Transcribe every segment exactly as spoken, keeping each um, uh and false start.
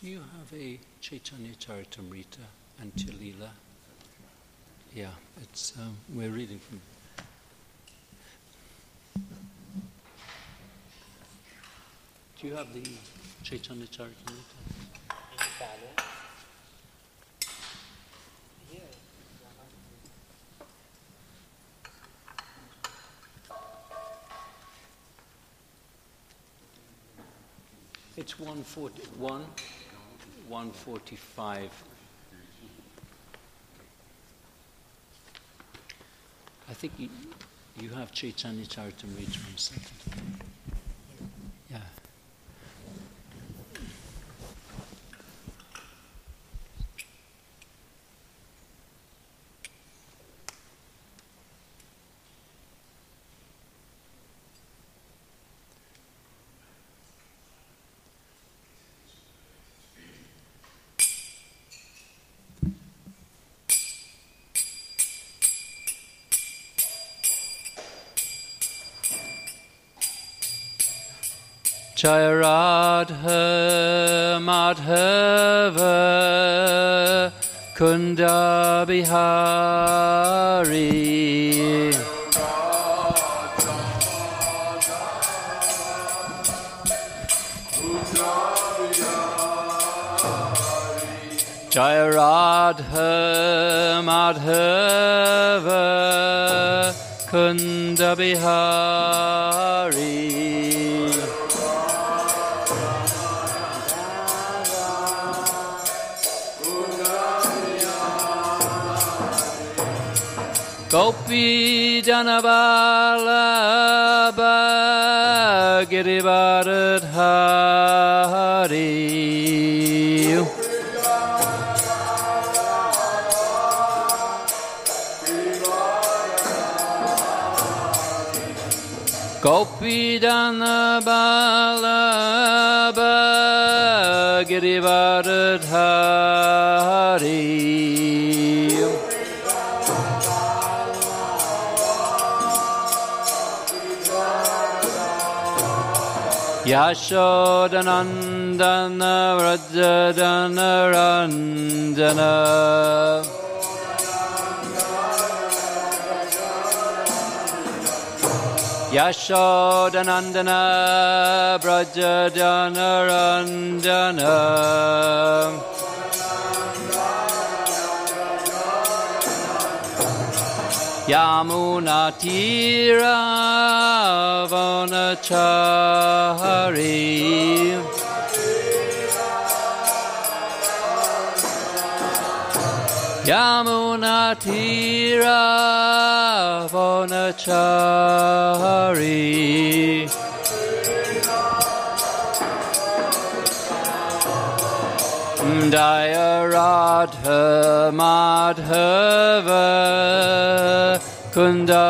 Do you have a Chaitanya Charitamrita Antya-lila? Yeah, it's um, we're reading from. Do you have the Chaitanya Charitamrita? It's one forty-one, one forty-five. I think you, you have Chaitanya Charitamrita on Saturday. Yeah. Jaya Radha Madhava Kunda Bihari Jaya Radha Madhava Kunda Bihari Gopi Janavalabha Girivardhari Gopi Janavalabha Girivardhari Yashodanandana Vrajadana Ranjana Yashodanandana Vrajadana Ranjana Yamuna Tira Vanachari Yamuna Tira Vanachari Jaya Radha Madhava Kunda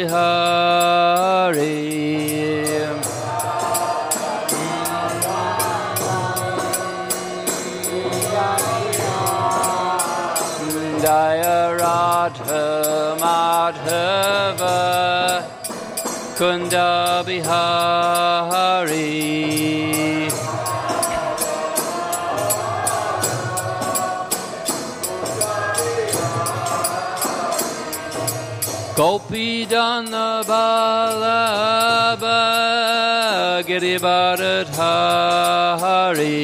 Bihari Jaya Radha Madhava Kunda Bihari Gopi Janavalabha Girivardhari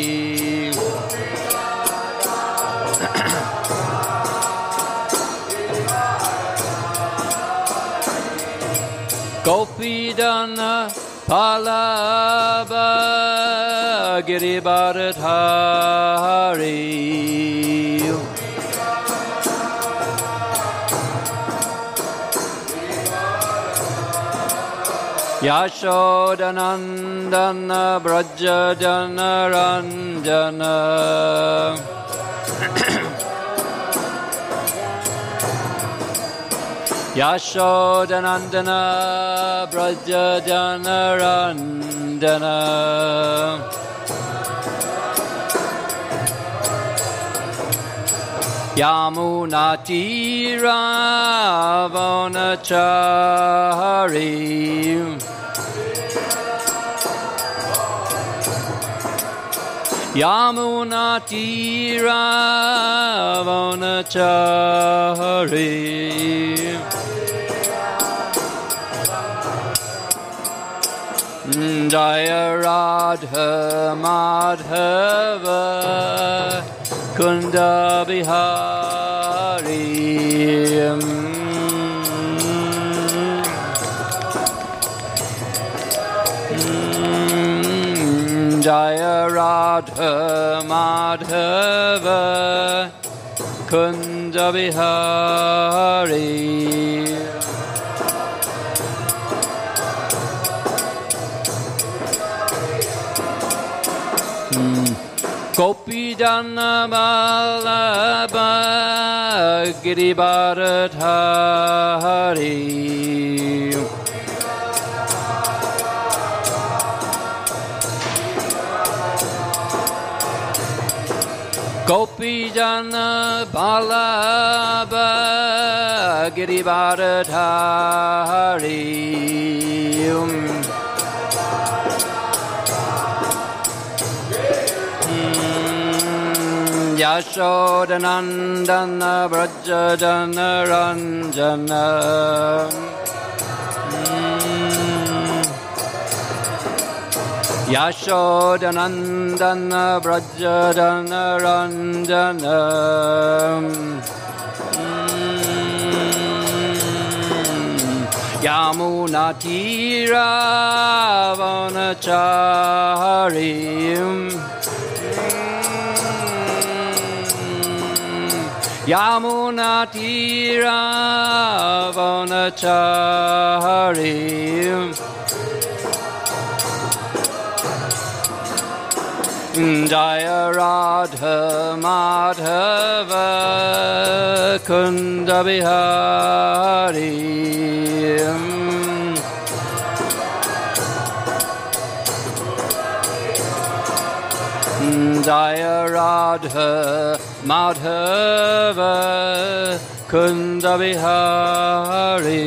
Gopi Janavalabha Girivardhari Yashodanandana Vrajadana Ranjana Yashodanandana Vrajadana Ranjana Yamuna Tira Vanachari Yamuna Tira Vanachari Jaya Radha Madhava Kunda Bihari Jaya Radha Madhava Kunda Bihari Gopi Jana Vallabha Giribharadhari Gopi Jana Vallabha Giribharadhari Yashodanandana Vrajadana Ranjana Yashodanandana Vrajadana Ranjana Yamuna Tira Vanachari Yamuna Tira Vanachari Jaya Radha Madhava Kunda Bihari Jaya Radha Madhava Kunda Bihari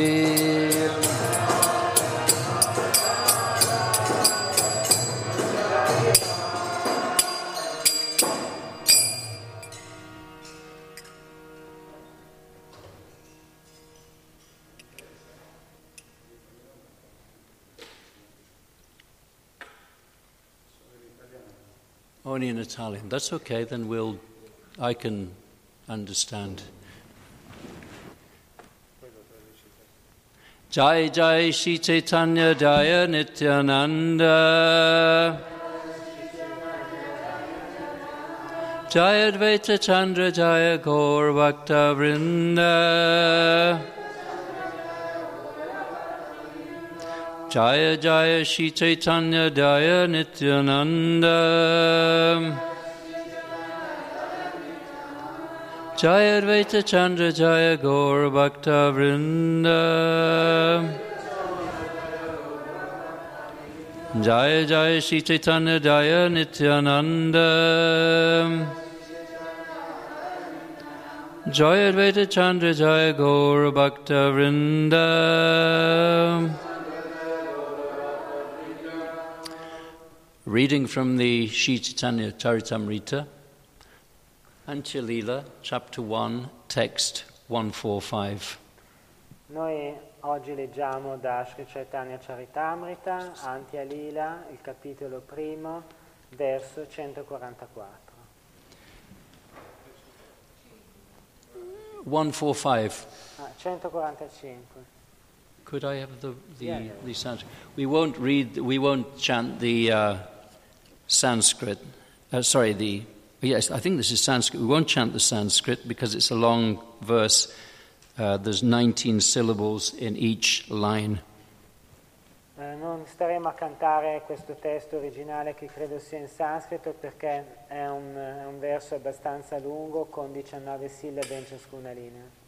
Only in Italian. That's okay, then we'll, I can understand. Jai Jai Shri Chaitanya Jaya Nityananda Jaya Advaita Chandra Jaya Gaur Bhakta Vrinda Jaya Jaya Shri Chaitanya Jaya Nityananda Jaya Advaita Chandra Jaya Gaur Bhakta Vrinda Jaya Jaya Shri Chaitanya Jaya Nityananda Jaya Advaita Chandra Jaya Gaur Bhakta Vrinda. Reading from the Sri Chaitanya Charitamrita, Antya Lila, chapter one, text one forty-five. Noi oggi leggiamo da Sri Chaitanya Charitamrita, Antya Lila, il capitolo primo, verso centoquarantaquattro. one forty-five. Ah, centoquarantacinque. Could I have the the, yeah, yeah. the Sanskrit? We won't read. We won't chant the uh, Sanskrit. Uh, sorry, the yes. I think this is Sanskrit. We won't chant the Sanskrit because it's a long verse. Uh, there's nineteen syllables in each line. Eh, non staremo a cantare questo testo originale che credo sia in sanscrito perché è un, è un verso abbastanza lungo con diciannove sillabe in ciascuna linea.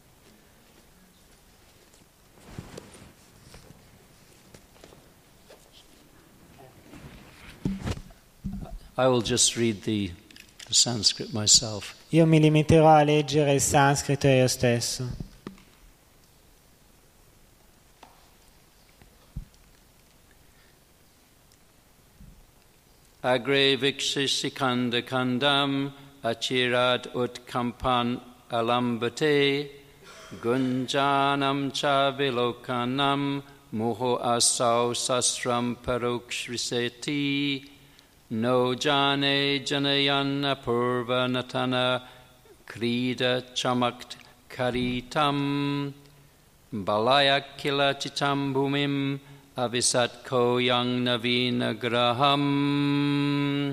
I will just read the, the Sanskrit myself. Io mi limiterò a leggere il sanscrito io stesso. agre vikshishikanda kandam achirad utkampan alambate gunjanam cha vilokanam muho asau sastram parokshriseti no jane janayana purva natana krida chamakt karitam balaya kila chitam bhumim avisat koyang navina graham.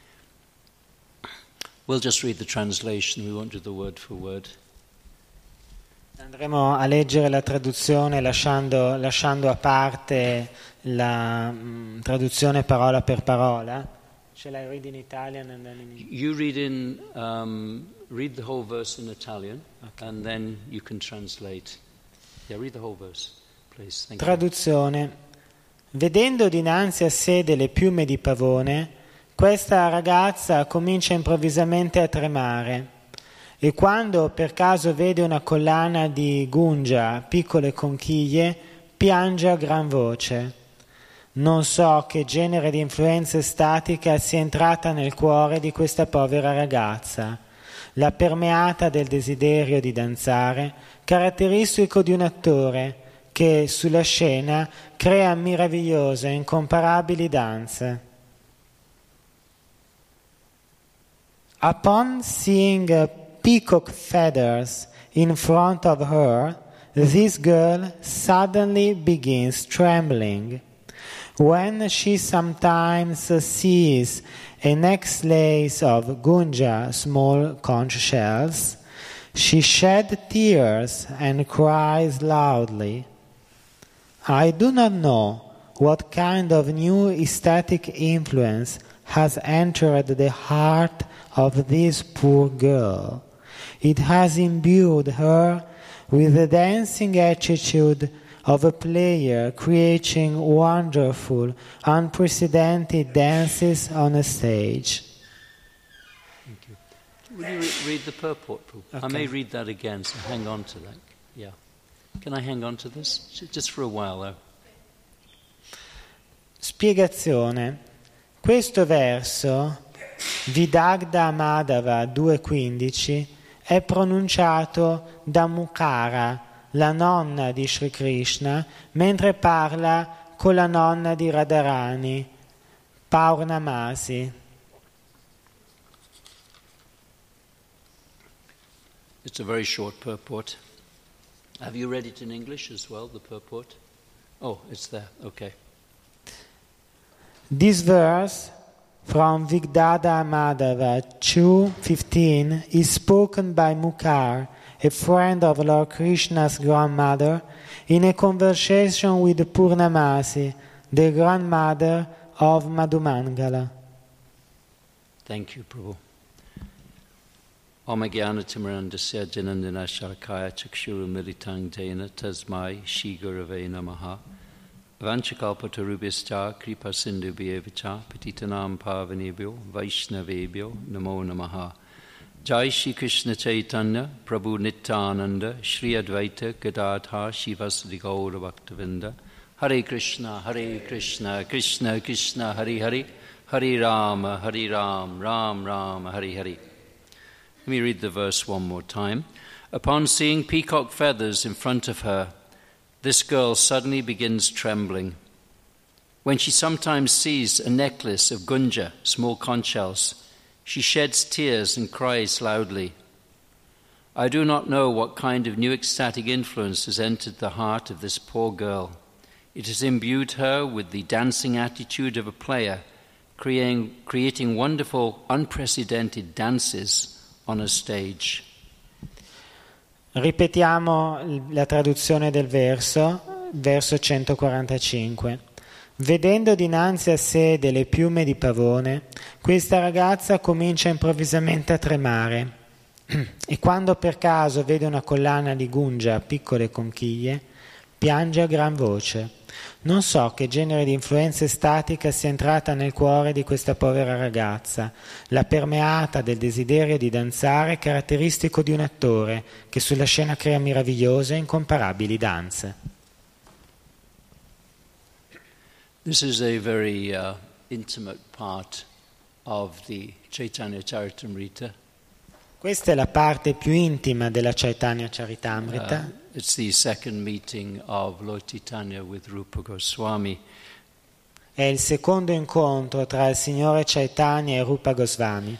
We'll just read the translation, we won't do the word for word. Andremo a leggere la traduzione lasciando, lasciando a parte la mh, traduzione parola per parola. Shall I read in Italian and then in English? You read in um, read the whole verse in Italian, okay. And then you can translate. Yeah, read the whole verse, please. Thank Traduzione. You. Vedendo dinanzi a sé delle piume di pavone, questa ragazza comincia improvvisamente a tremare e quando per caso vede una collana di gungia, piccole conchiglie, piange a gran voce. Non so che genere di influenza statica sia entrata nel cuore di questa povera ragazza, la permeata del desiderio di danzare, caratteristico di un attore che sulla scena crea meravigliose e incomparabili danze. Upon seeing uh, peacock feathers in front of her, this girl suddenly begins trembling. When she sometimes sees a necklace of gunja, small conch shells, she sheds tears and cries loudly. I do not know what kind of new aesthetic influence has entered the heart of this poor girl. It has imbued her with the dancing attitude of a player creating wonderful, unprecedented dances on a stage. Thank you. Will you re- read the purport? Okay. I may read that again, so hang on to that. Yeah. Can I hang on to this? Just for a while, though. Spiegazione. Questo verso, Vidagda Madhava due quindici, è pronunciato da Mukara, la nonna di Sri Krishna, mentre parla con la nonna di Radharani, Purnamasi. It's a very short purport. Have you read it in English as well, the purport? Oh, it's there, okay. This verse from Vigdada Madhava two fifteen is spoken by Mukar, a friend of Lord Krishna's grandmother, in a conversation with Purnamasi, the grandmother of Madhumangala. Thank you, Prabhu. Om Jnanatimrandasya Janandana Shalakaya Chakshuru Militang Dena Tasmai Shri Gurave Namaha Vanchakalpatarubhyascha Kripa Sindhu Bhyevacha Patitanam Pavanebhyo Vaishnavebhyo Namo Namaha. Jai Shri Krishna Chaitanya Prabhu Nityananda Shri Advaita Gadadhar Shivasadi Gaura Bhaktavinda. Hare Krishna, Hare Krishna, Krishna Krishna, Hare Hare, Hare Rama, Hare Ram, Ram Ram, Hare Hare. Let me read the verse one more time. Upon seeing peacock feathers in front of her, this girl suddenly begins trembling. When she sometimes sees a necklace of gunja, small conch shells, she sheds tears and cries loudly. I do not know what kind of new ecstatic influence has entered the heart of this poor girl. It has imbued her with the dancing attitude of a player, creating, creating wonderful, unprecedented dances on a stage. Ripetiamo la traduzione del verso, verso centoquarantacinque. Vedendo dinanzi a sé delle piume di pavone, questa ragazza comincia improvvisamente a tremare e quando per caso vede una collana di gungia a piccole conchiglie, piange a gran voce. Non so che genere di influenza estatica sia entrata nel cuore di questa povera ragazza, la permeata del desiderio di danzare caratteristico di un attore che sulla scena crea meravigliose e incomparabili danze. This is a very uh, intimate part of the Chaitanya Charitamrita. Questa è la parte più intima della Chaitanya Charitamrita. Uh, it's the second meeting of Lord Chaitanya with Rupa Goswami. È il secondo incontro tra il Signore Chaitanya e Rupa Goswami.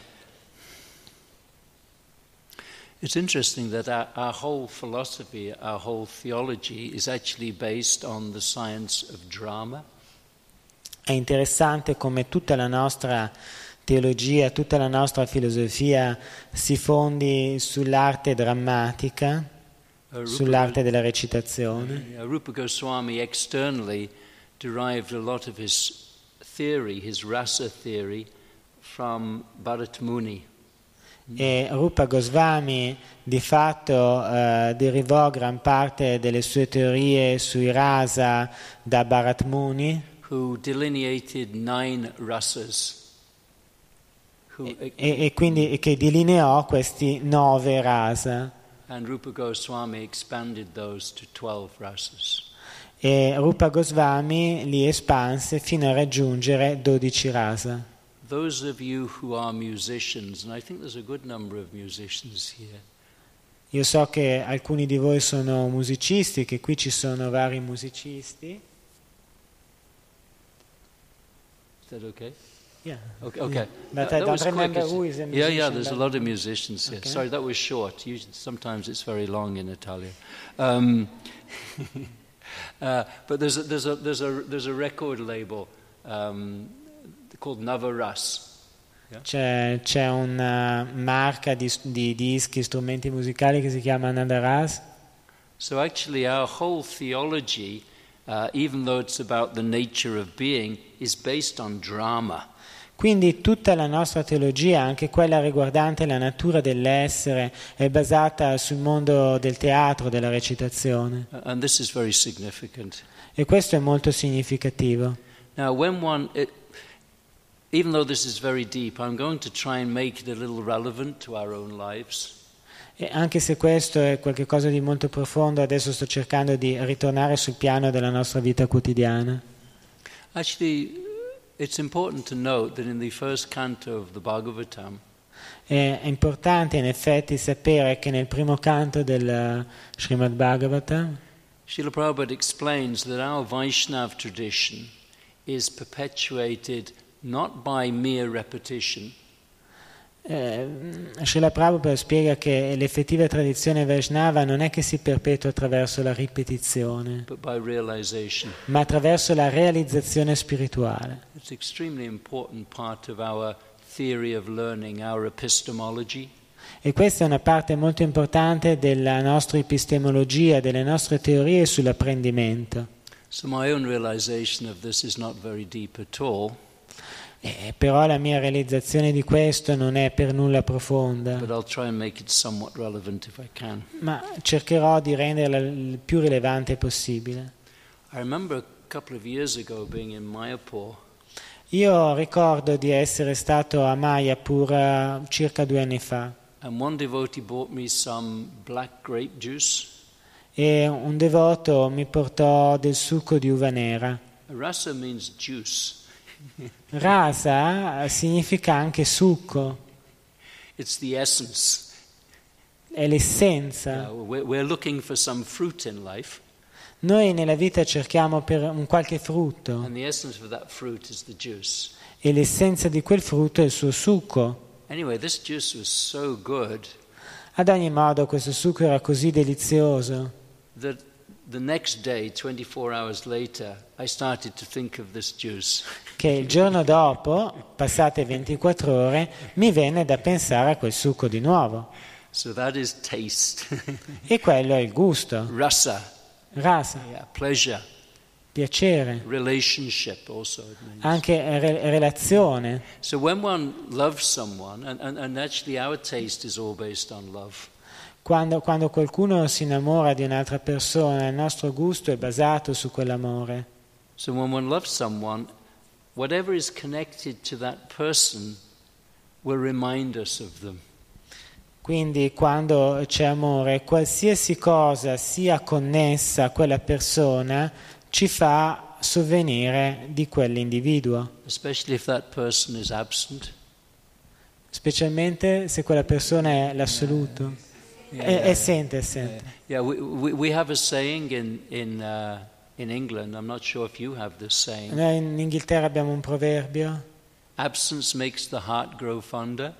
It's interesting that our, our whole philosophy, our whole theology is actually based on the science of drama. È interessante come tutta la nostra teologia, tutta la nostra filosofia si fondi sull'arte drammatica, Uh, Rupa, sull'arte della recitazione. uh, Rupa Goswami externally derived a lot of his theory, his rasa theory, from Bharat Muni. E Rupa Goswami di fatto eh, derivò gran parte delle sue teorie sui rasa da Bharat Muni, Who delineated nine rasas. Who, e, e quindi che delineò questi nove rasa. and Rupa Goswami expanded those to twelve rasas. E Rupa Goswami li espanse fino a raggiungere dodici rasa. Those of you who are musicians, and I think there's a good number of musicians here, Io so che alcuni di voi sono musicisti, che qui ci sono vari musicisti. is that okay? Yeah. Okay, okay. Yeah. But Uh, I that don't was quick, remember is who it? is a Yeah, yeah, musician, there's a but- lot of musicians here. Okay. Sorry, that was short. Usually, sometimes it's very long in Italian. Um, uh, but there's a, there's a, there's a, there's a record label um, called Navaras. C'è, c'è una marca di, di dischi, strumenti musicali che si chiama Nadaras. So actually our whole theology, uh, even though it's about the nature of being, is based on drama. Quindi tutta la nostra teologia, anche quella riguardante la natura dell'essere, è basata sul mondo del teatro, della recitazione. Uh, and this is very significant. E questo è molto significativo. Now when one... It, even though this is very deep, I'm going to try and make it a little relevant to our own lives. E anche se questo è qualcosa di molto profondo, adesso sto cercando di ritornare sul piano della nostra vita quotidiana. Actually, it's important to note that in the first canto of the Bhagavatam, È importante in effetti sapere che nel primo canto del Srimad Bhagavatam Srila Prabhupada explains that our Vaishnav tradition is perpetuated not by mere repetition, eh, Srila Prabhupada spiega che l'effettiva tradizione Vaishnava non è che si perpetua attraverso la ripetizione, but by realization. ma attraverso la realizzazione spirituale. It's an extremely important part of our theory of learning, our epistemology. E questa è una parte molto importante della nostra epistemologia, delle nostre teorie sull'apprendimento. So my own realization of this is not very deep at all, Eh, però la mia realizzazione di questo non è per nulla profonda, but I'll try and make it somewhat relevant if I can. ma cercherò di renderla il più rilevante possibile. I remember a couple of years ago being in Mayapur, Io ricordo di essere stato a Mayapur eh, circa due anni fa and one devotee bought me some black grape juice. e un devoto mi portò del succo di uva nera. Rasa means juice. Rasa significa anche succo, It's the essence. è l'essenza. Uh, we're, we're looking for some fruit in life, Noi nella vita cerchiamo per un qualche frutto and the essence of that fruit is the juice. e l'essenza di quel frutto è il suo succo. Anyway, this juice was so good Ad ogni modo questo succo era così delizioso that the next day, twenty-four hours later, I started to think of this juice. che il giorno dopo, passate ventiquattro ore, mi venne da pensare a quel succo di nuovo. So that is taste. E quello è il gusto, Rasa, rasa, yeah, pleasure, piacere, relationship also it means. anche re- relazione. So when one loves someone, and, and, and actually our taste is all based on love. Quando, quando qualcuno si innamora di un'altra persona, il nostro gusto è basato su quell'amore. So when one loves someone, whatever is connected to that person will remind us of them. Quindi quando c'è amore, qualsiasi cosa sia connessa a quella persona ci fa sovvenire di quell'individuo. Especially if that person is absent. specialmente se quella persona è l'assoluto. Yeah, è, yeah, è assente, è assente. Yeah, we, we, we have a saying in, in, uh, in England, I'm not sure if you have this saying. Noi in Inghilterra abbiamo un proverbio. Absence makes the heart grow fonder.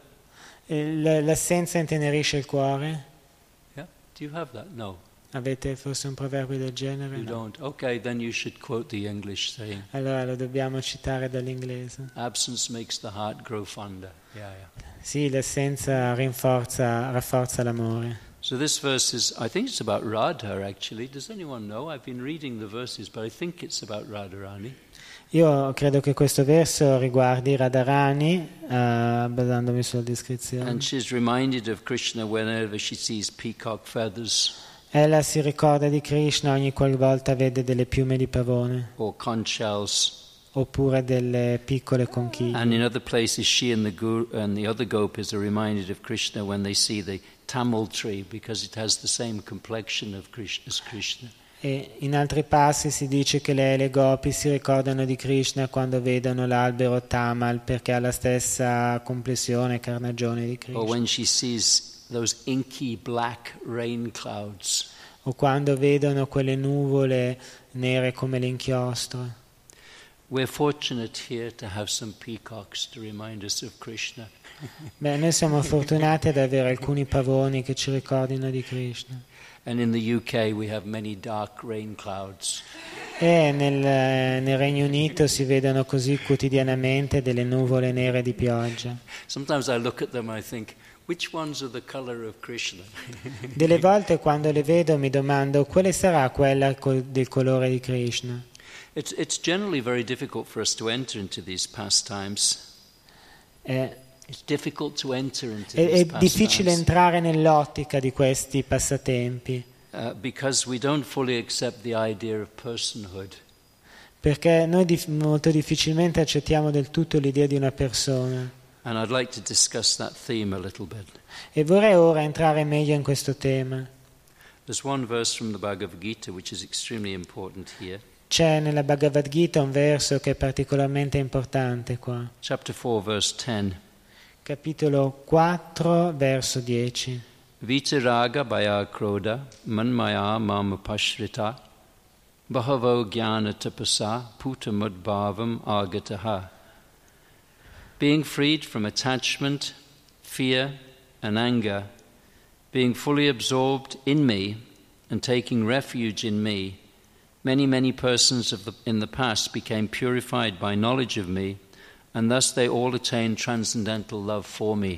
L- l'assenza intenerisce il cuore. Yeah, do you have that? No. Avete forse un proverbio del genere? You No. don't. Okay, then you should quote the English saying. Allora lo dobbiamo citare dall'inglese. Absence makes the heart grow fonder. Yeah, yeah. Sì, l'assenza rinforza, rafforza l'amore. So this verse is, I think it's about Radha actually. Does anyone know? I've been reading the verses, but I think it's about Radharani. Io credo che questo verso riguardi Radharani, uh, basandomi sulla descrizione. And she's reminded of Krishna whenever she sees peacock feathers Ella si ricorda di Krishna ogni qualvolta vede delle piume di pavone or conch shells. oppure delle piccole conchiglie. And in other places, she and the guru and the other gopis are reminded of Krishna when they see the tamil tree because it has the same complexion of Krishna as Krishna. E in altri passi si dice che lei e le gopi si ricordano di Krishna quando vedono l'albero Tamal perché ha la stessa complessione e carnagione di Krishna. Or when she sees those inky black rain clouds. O quando vedono quelle nuvole nere come l'inchiostro. We're fortunate here to have some peacocks to remind us of Krishna. Beh, noi siamo fortunati ad avere alcuni pavoni che ci ricordino di Krishna. And in the U K we have many dark rain clouds. E nel, nel Regno Unito si vedono così quotidianamente delle nuvole nere di pioggia. Sometimes I look at them and I think, which ones are the color of Krishna? Delle volte quando le vedo mi domando quale sarà quella col- del colore di Krishna. It's, it's generally very difficult for us to enter into these pastimes. È, It's difficult to enter into è- these è difficile pastimes entrare nell'ottica di questi passatempi uh, because we don't fully accept the idea of personhood. perché noi dif- molto difficilmente accettiamo del tutto l'idea di una persona. And I'd like to discuss that theme a little bit. E vorrei ora entrare meglio in questo tema. There's one verse from the Bhagavad Gita which is extremely important here. C'è nella Bhagavad Gita un verso che è particolarmente importante qua. Chapter four, verse ten. Capitolo quattro, verso dieci. Vitaraga bhaya krodha manmaya mama pashrita bahavo jnana tapasa putamudbhavam agataha. Being freed from attachment, fear and anger, being fully absorbed in me and taking refuge in me, many, many persons of the, in the past became purified by knowledge of me, and thus they all attained transcendental love for me.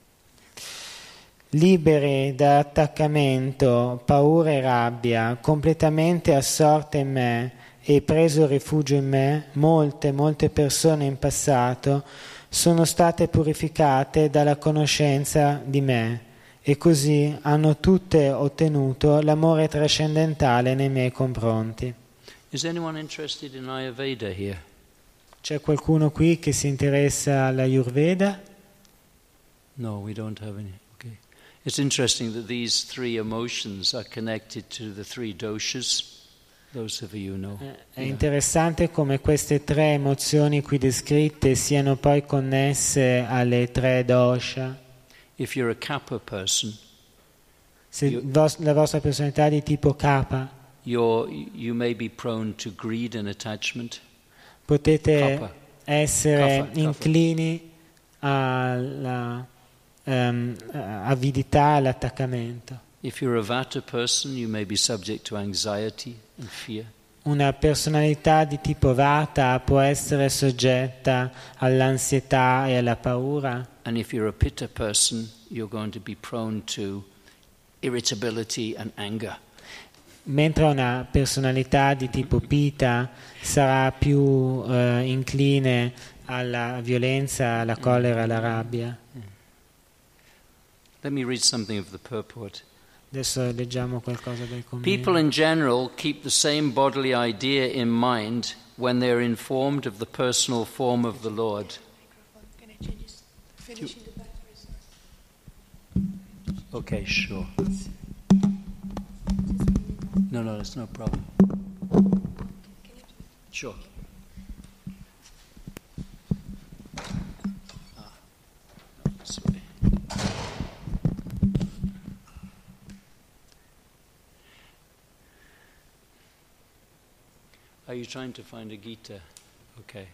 Liberi da attaccamento, paura e rabbia, completamente assorte in me e preso rifugio in me, molte, molte persone in passato sono state purificate dalla conoscenza di me e così hanno tutte ottenuto l'amore trascendentale nei miei confronti. Is anyone interested in Ayurveda here? C'è qualcuno qui che si interessa all'Ayurveda? No, we don't have any. Okay. It's interesting that these three emotions are connected to the three doshas. Those of you know. È interessante come queste tre emozioni qui descritte siano poi connesse alle tre dosha. If you're a kapha person, Se You- vos- la vostra personalità è di tipo kapha, you're, you may be prone to greed and attachment. potete Kapha. essere Kapha, kapha. inclini alla ehm, avidità e all'attaccamento. If you're a vata person, you may be subject to anxiety and fear. Una personalità di tipo vata può essere soggetta all'ansietà e alla paura, And if you're a pitta person, you're going to be prone to irritability and anger. mentre una personalità di tipo pita sarà più eh, incline alla violenza, alla collera, alla rabbia. Let me read something of the purport. Adesso leggiamo qualcosa del commento. People in general keep the same bodily idea in mind when they are informed of the personal form of the Lord. Can I change this? Finishing the batteries. Okay, sure. No, no, that's no problem. Sure. Ah, no, this way. Are you trying to find a Gita? Okay.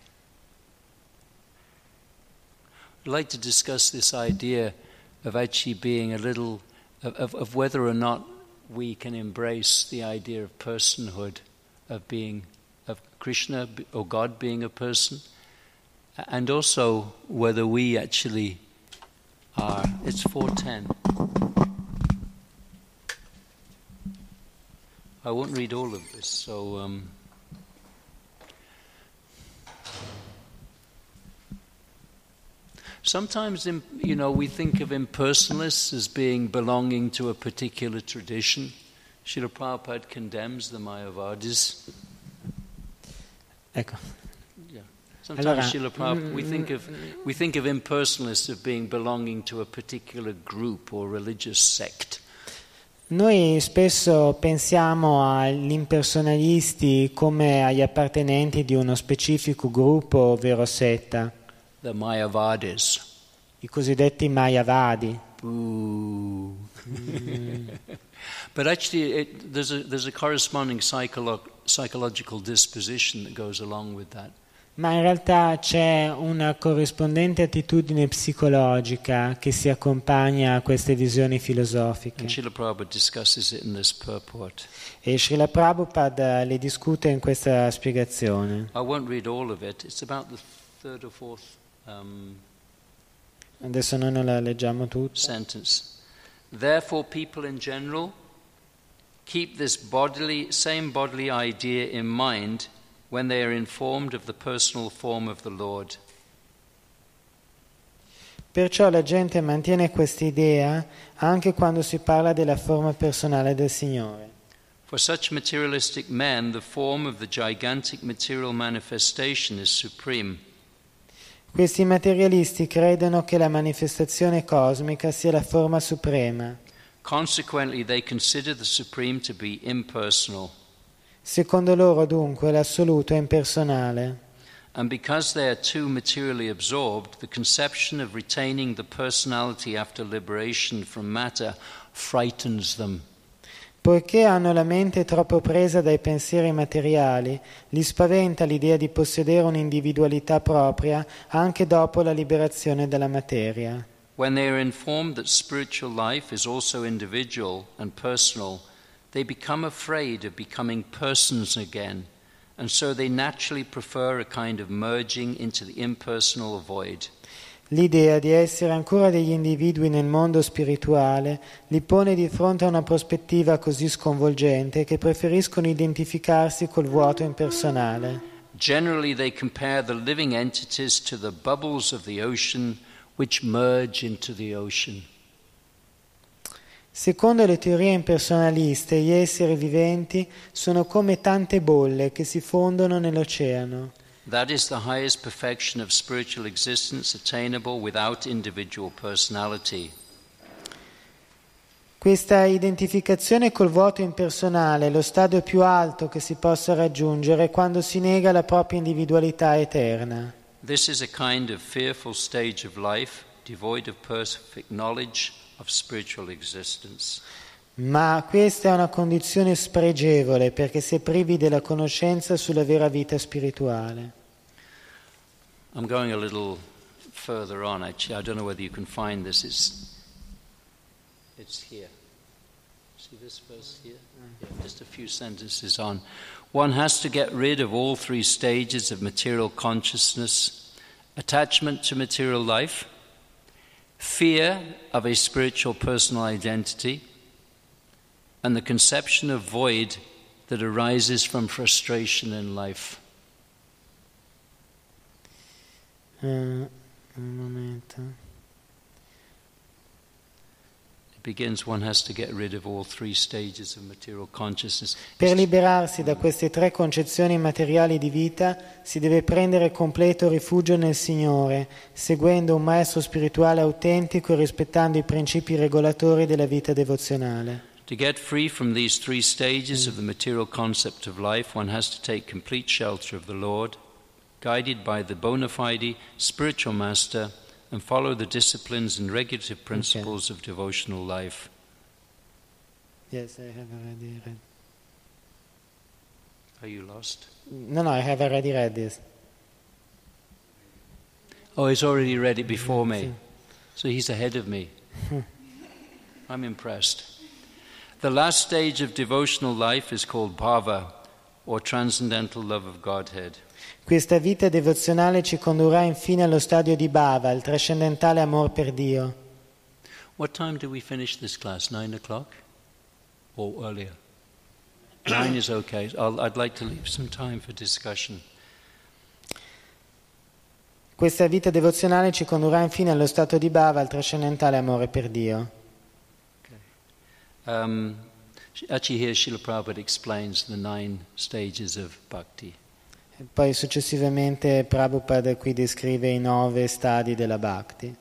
I'd like to discuss this idea of actually being a little, of, of, of whether or not we can embrace the idea of personhood, of being, of Krishna or God being a person, and also whether we actually are. It's four ten. I won't read all of this, so um, sometimes, you know, we think of impersonalists as being belonging to a particular tradition. Srila Prabhupada condemns the Mayavadis. Ecco. Yeah. Sometimes Allora, Srila Prabhupada, we think of we think of impersonalists as being belonging to a particular group or religious sect. Noi spesso pensiamo agli impersonalisti come agli appartenenti di uno specifico gruppo, ovvero setta. The Mayavadis. I cosiddetti Mayavadi. Boo. Mm. But actually, it, there's a there's a corresponding psycholo- psychological disposition that goes along with that. Ma in realtà c'è una corrispondente attitudine psicologica che si accompagna a queste visioni filosofiche. And Srila Prabhupada discusses it in this purport. E Srila Prabhupada le discute in questa spiegazione. I won't read all of it. It's about the third or fourth um, Adesso noi non la leggiamo tutta. sentence. Therefore, people in general keep this bodily, same bodily idea in mind when they are informed of the personal form of the Lord. Perciò la gente mantiene questa idea anche quando si parla della forma personale del Signore. For such materialistic men, the form of the gigantic material manifestation is supreme. Questi materialisti credono che la manifestazione cosmica sia la forma suprema. Consequently, they consider the supreme to be impersonal. Secondo loro, dunque, l'assoluto è impersonale. And because they are too materially absorbed, the conception of retaining the personality after liberation from matter frightens them. Poiché hanno la mente troppo presa dai pensieri materiali, li spaventa l'idea di possedere un'individualità propria anche dopo la liberazione dalla materia. When they are informed that spiritual life is also individual and personal, they become afraid of becoming persons again, and so they naturally prefer a kind of merging into the impersonal void. L'idea di essere ancora degli individui nel mondo spirituale li pone di fronte a una prospettiva così sconvolgente che preferiscono identificarsi col vuoto impersonale. Generally, they compare the living entities to the bubbles of the ocean which merge into the ocean. Secondo le teorie impersonaliste, gli esseri viventi sono come tante bolle che si fondono nell'oceano. That is the highest perfection of spiritual existence attainable without individual personality. Questa identificazione col vuoto impersonale è lo stadio più alto che si possa raggiungere quando si nega la propria individualità eterna. This is a kind of fearful stage of life, devoid of perfect knowledge of spiritual existence. Ma questa è una condizione spregevole perché si è privi della conoscenza sulla vera vita spirituale. I'm going a little further on, actually. I don't know whether you can find this. It's, it's here. See this verse here? Yeah, just a few sentences on. One has to get rid of all three stages of material consciousness: attachment to material life, fear of a spiritual personal identity, and the conception of void that arises from frustration in life. Uh, un momento. It begins, one has to get rid of all three stages of material consciousness. Per liberarsi da queste tre concezioni materiali di vita si deve prendere completo rifugio nel Signore, seguendo un maestro spirituale autentico e rispettando i principi regolatori della vita devozionale. To get free from these three stages of the material concept of life, one has to take complete shelter of the Lord, guided by the bona fide spiritual master, and follow the disciplines and regulative principles okay. of devotional life. Yes, I have already read. Are you lost? No, no, I have already read this. Oh, he's already read it before me. Sì. So he's ahead of me. I'm impressed. The last stage of devotional life is called bhava, or transcendental love of Godhead. Questa vita devozionale ci condurrà infine allo stadio di bhava, il trascendentale amor per Dio. What time do we finish this class? Nine o'clock? Or earlier? Nine is okay. I'll, I'd like to leave some time for discussion. Questa vita devozionale ci condurrà infine allo stato di bhava, il trascendentale amore per Dio. Okay. Um, actually here Srila Prabhupada explains the nine stages of bhakti. E poi successivamente Prabhupada qui descrive i nove stadi della bhakti.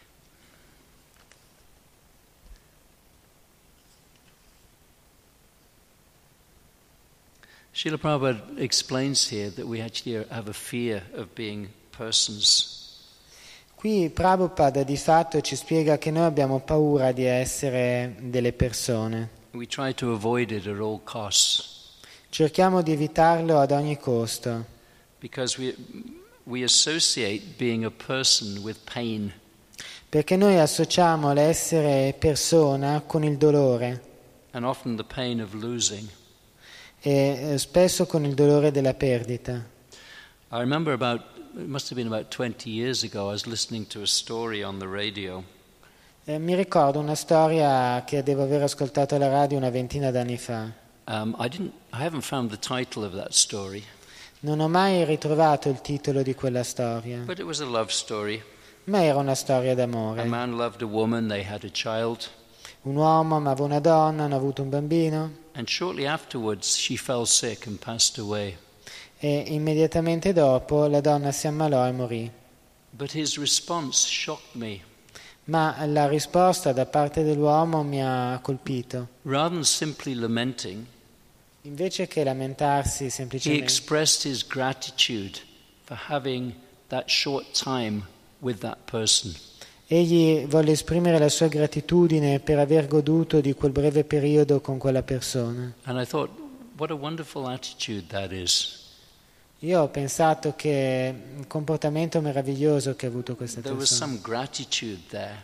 Srila Prabhupada explains here that we actually have a fear of being persons. Qui Prabhupada di fatto ci spiega che noi abbiamo paura di essere delle persone. We try to avoid it at all costs Cerchiamo di evitarlo ad ogni costo, because we we associate being a person with pain. perché noi associamo l'essere persona con il dolore And often the pain of losing. e eh, spesso con il dolore della perdita. I remember about, it must have been about twenty years ago, I was listening to a story on the radio. Eh, mi ricordo una storia che devo aver ascoltato alla radio una ventina d'anni fa. Um, I didn't, I haven't found the title of that story, Non ho mai ritrovato il titolo di quella storia, but it was a love story. ma era una storia A d'amore. man loved a woman, they had a child, Un uomo amava una donna, hanno avuto un bambino and shortly afterwards she fell sick and passed away. e immediatamente dopo la donna si ammalò e morì. But his response shocked me. Ma la risposta da parte dell'uomo mi ha colpito. Rather than simply lamenting, Invece che lamentarsi he semplicemente, expressed his gratitude for having that short time with that person. egli volle esprimere la sua gratitudine per aver goduto di quel breve periodo con quella persona. And I thought, what a wonderful attitude that is. Io ho pensato che un comportamento meraviglioso che ha avuto questa There was persona. some gratitude there.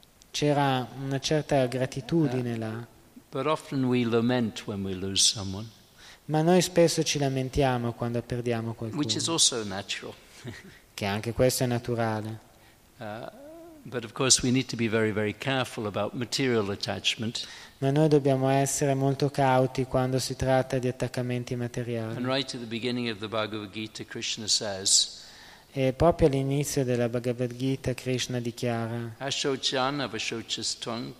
C'era una certa gratitudine là, But often we lament when we lose someone, ma noi spesso ci lamentiamo quando perdiamo which is qualcuno, also natural. che anche questo è naturale. Uh, but of course we need to be very, very careful about material attachment. Ma noi dobbiamo essere molto cauti quando si tratta di attaccamenti And materiali. right at the beginning of the Bhagavad Gita, Krishna says, E proprio all'inizio della Bhagavad Gita Krishna dichiara: Ashochan avashochistvang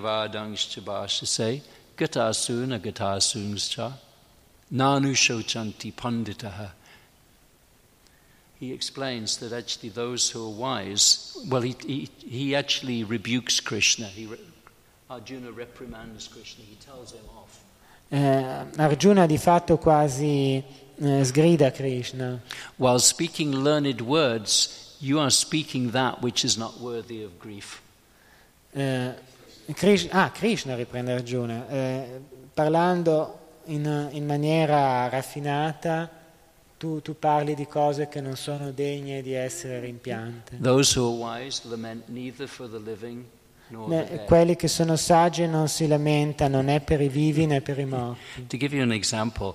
pragyavadangschabhashase gatasuna gatasungscha nanu shochanti panditaha. He explains that actually those who are wise, well, he, he, he actually rebukes Krishna. He, Arjuna reprimands Krishna. He tells him off. eh, Arjuna di fatto quasi eh, sgrida Krishna. While speaking learned words, you are speaking that which is not worthy of grief. Eh, Krish- ah, Krishna riprende Arjuna, eh, parlando in, in maniera raffinata, tu, tu parli di cose che non sono degne di essere rimpiante. Those who are wise lament neither for the living nor the Ne- dead. quelli che sono saggi non si lamentano né per i vivi né per i morti. To give you an example,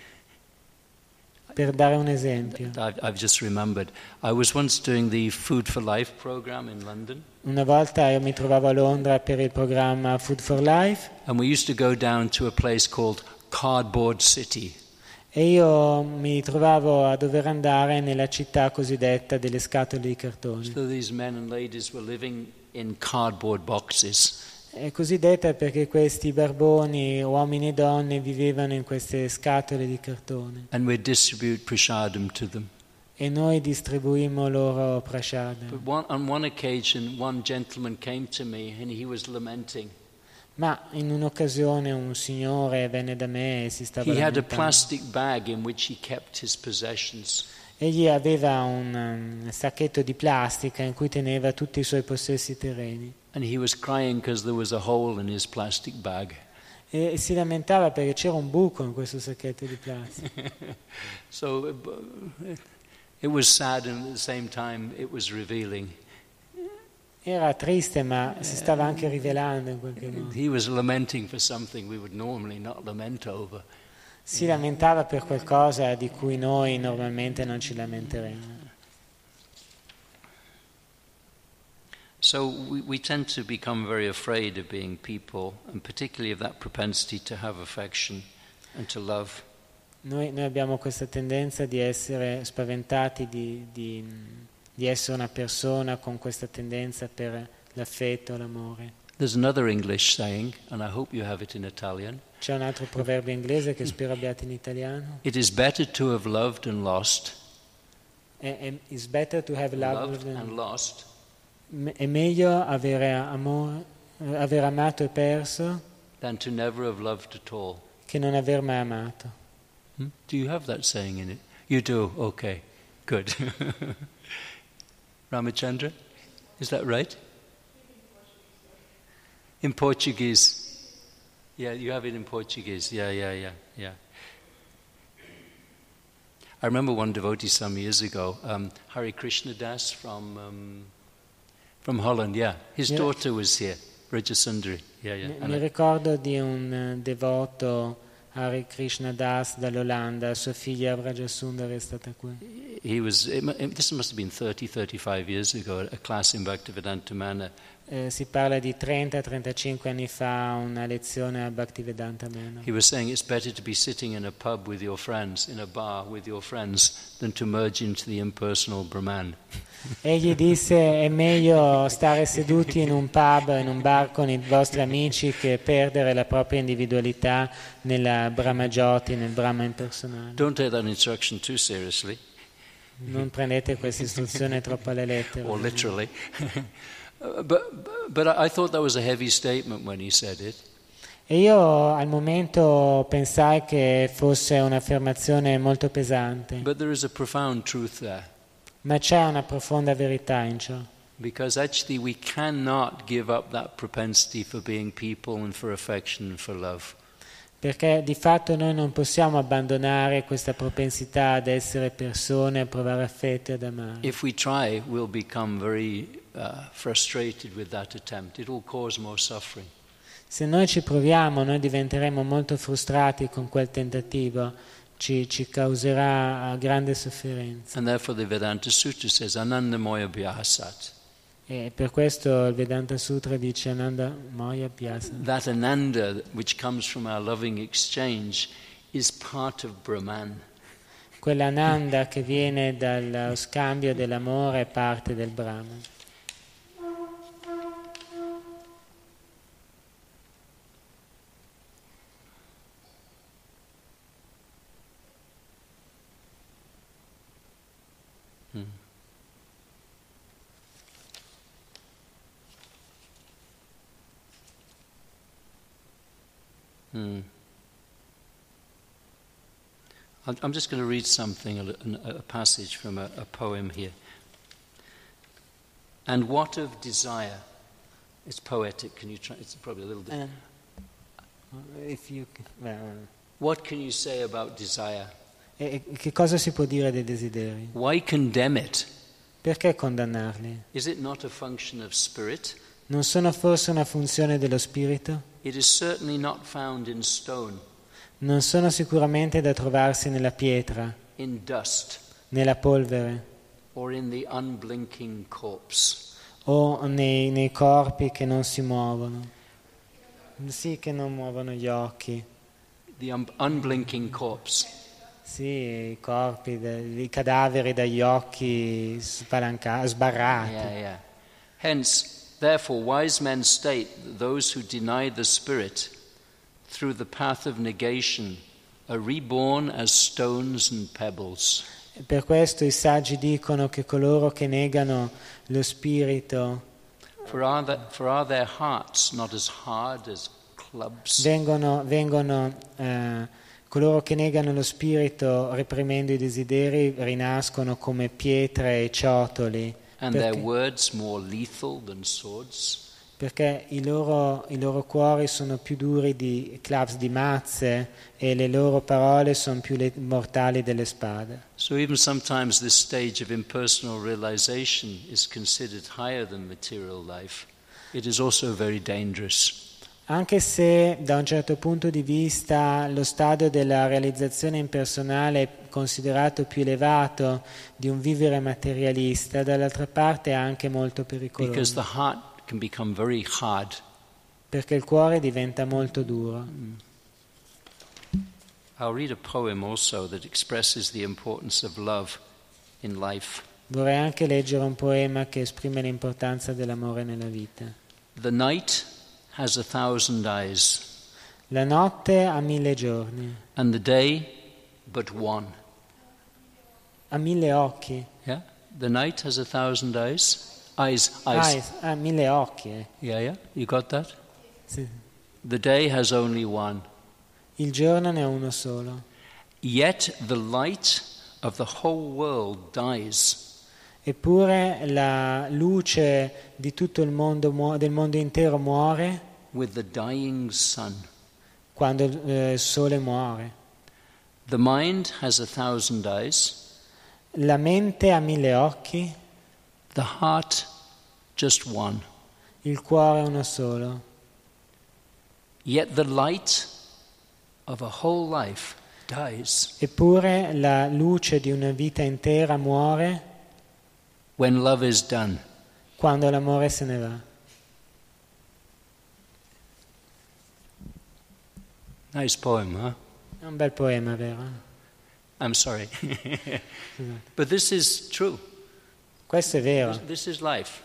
Per dare un esempio, I've, I've just remembered, I was once doing the Food for Life program in London, una volta io mi trovavo a Londra per il programma Food for Life and we used to go down to a place called Cardboard City. e io mi trovavo a dover andare nella città cosiddetta delle scatole di cartone. So these men and ladies were living in cardboard boxes. È cosiddetta perché questi barboni, uomini e donne, vivevano in queste scatole di cartone And we'd distribute prashadam to them. e noi distribuimmo loro prashada. But one, on one occasion, one gentleman came to me and he was lamenting. Ma in un'occasione un signore venne da me e si stava He had a lamentando. plastic bag in which he kept his possessions. Egli aveva un um, sacchetto di plastica in cui teneva tutti i suoi possessi terreni And he was crying because there was a hole in his plastic bag. E si lamentava perché c'era un buco in questo sacchetto di plastica. So uh, it was sad, and at the same time it was revealing. Era triste, ma si stava anche rivelando in qualche modo. He was lamenting for something we would normally not lament over. Si lamentava per qualcosa di cui noi normalmente non ci lamenteremmo. So we, we tend to become very afraid of being people, and particularly of that propensity to have affection and to love. Noi, noi abbiamo questa tendenza di essere spaventati di, di, di essere una persona con questa tendenza per l'affetto, l'amore. There's another English saying, and I hope you have it in Italian. C'è un altro proverbio inglese che spero abbiate in italiano. It is better to have loved and lost. È, è, it's better to have loved, Loved and lost è meglio avere amore, aver amato e perso than to never have loved at all. che non aver mai amato. Hmm? Do you have that saying in it? You do? Okay, good. Ramachandra, is that right? In Portuguese. Yeah, you have it in Portuguese. Yeah, yeah, yeah, yeah. I remember one devotee some years ago, um, Hari Krishna Das from um, from Holland. Yeah, his Yeah. daughter was here, Rajasundari. Yeah, yeah. Mi, And mi I- ricordo di un eh, devoto Hare Krishna Das dall'Olanda, sua figlia Vrajasundari è stata qui. he was. It, mu- it, this must have been thirty, thirty-five years ago. A class in Bhaktivedanta Manor. Eh, si parla di trenta trentacinque anni fa, una lezione a Bhaktivedanta Manor. He was saying it's better to be sitting in a pub with your friends, in a bar with your friends, than to merge into the impersonal Brahman. Egli disse: è meglio stare seduti in un pub, in un bar con i vostri amici, che perdere la propria individualità nella Brahmajoti, nel Brahma impersonale. Don't take that instruction too seriously, Non prendete questa istruzione troppo alle lettere. or literally. Uh, but, but I thought that was a heavy statement when he said it. E io al momento pensai che fosse un'affermazione molto pesante, But there is a profound truth there. ma c'è una profonda verità in ciò. Because actually we cannot give up that propensity for being people and for affection and for love. Perché di fatto noi non possiamo abbandonare questa propensità ad essere persone, a provare affetto e ad amare. If we try, we'll become very uh, frustrated with that attempt. It will cause more suffering. Se noi ci proviamo, noi diventeremo molto frustrati con quel tentativo, ci, ci causerà grande sofferenza. And therefore the Vedanta Sutra says, Anandamoya Bhyasat. E per questo il Vedanta Sutra dice Ananda Moya Abhyasa. That Ananda, which comes from our loving exchange, is part of Brahman. Quell'ananda che viene dallo scambio dell'amore è parte del Brahman. Hmm. Hmm. I'm- I'm just going to read something, a, li- a passage from a, a poem here. And what of desire? It's poetic. Can you try? It's probably a little bit. If you, well, What can you say about desire? e che cosa si può dire dei desideri? Why condemn it? Perché condannarli? Is it not a function of spirit? Non sono forse una funzione dello spirito? It is certainly not found in stone, Non sono sicuramente da trovarsi nella pietra, in dust, nella polvere or in the unblinking corpse. o nei, nei corpi che non si muovono. Sì, che non muovono gli occhi. The un- unblinking corpse. Sì, i corpi, de- i cadaveri dagli occhi spalanca- sbarrati. Yeah, yeah. Hence, therefore, wise men state that those who deny the spirit through the path of negation are reborn as stones and pebbles. Per questo i saggi dicono che coloro che negano lo spirito For are, the, for are their hearts not as hard as clubs? vengono, vengono eh, coloro che negano lo spirito reprimendo i desideri rinascono come pietre e ciotoli. And their Perché? words more lethal than swords? perché i loro, i loro cuori sono più duri di claps di mazze e le loro parole sono più le- mortali delle spade. So even sometimes this stage of impersonal realization is considered higher than material life. It is also very dangerous. Anche se da un certo punto di vista lo stadio della realizzazione impersonale è considerato più elevato di un vivere materialista, dall'altra parte è anche molto Because pericoloso, the heart can become very hard. perché il cuore diventa molto duro. I'll read a poem also that expresses the importance of love in life. Vorrei anche leggere un poema che esprime l'importanza dell'amore nella vita. The night has a thousand eyes, La notte ha mille giorni, and the day but one. ha mille occhi. Yeah? The night has a thousand eyes. Eyes, eyes. Eyes, ha mille occhi. eh. Yeah, yeah. You got that? Sì. The day has only one. Il giorno ne ha uno solo. Yet the light of the whole world dies. Eppure la luce di tutto il mondo, muo- del mondo intero muore With the dying sun. quando eh, il sole muore. The mind has a thousand eyes, La mente ha mille occhi, the heart just one. il cuore uno solo. Yet the light of a whole life dies Eppure la luce di una vita intera muore when love is done. quando l'amore se ne va. Nice poem, huh? È un bel poema, vero? I'm sorry. Scusate. But this is true. Questo è vero. This is life.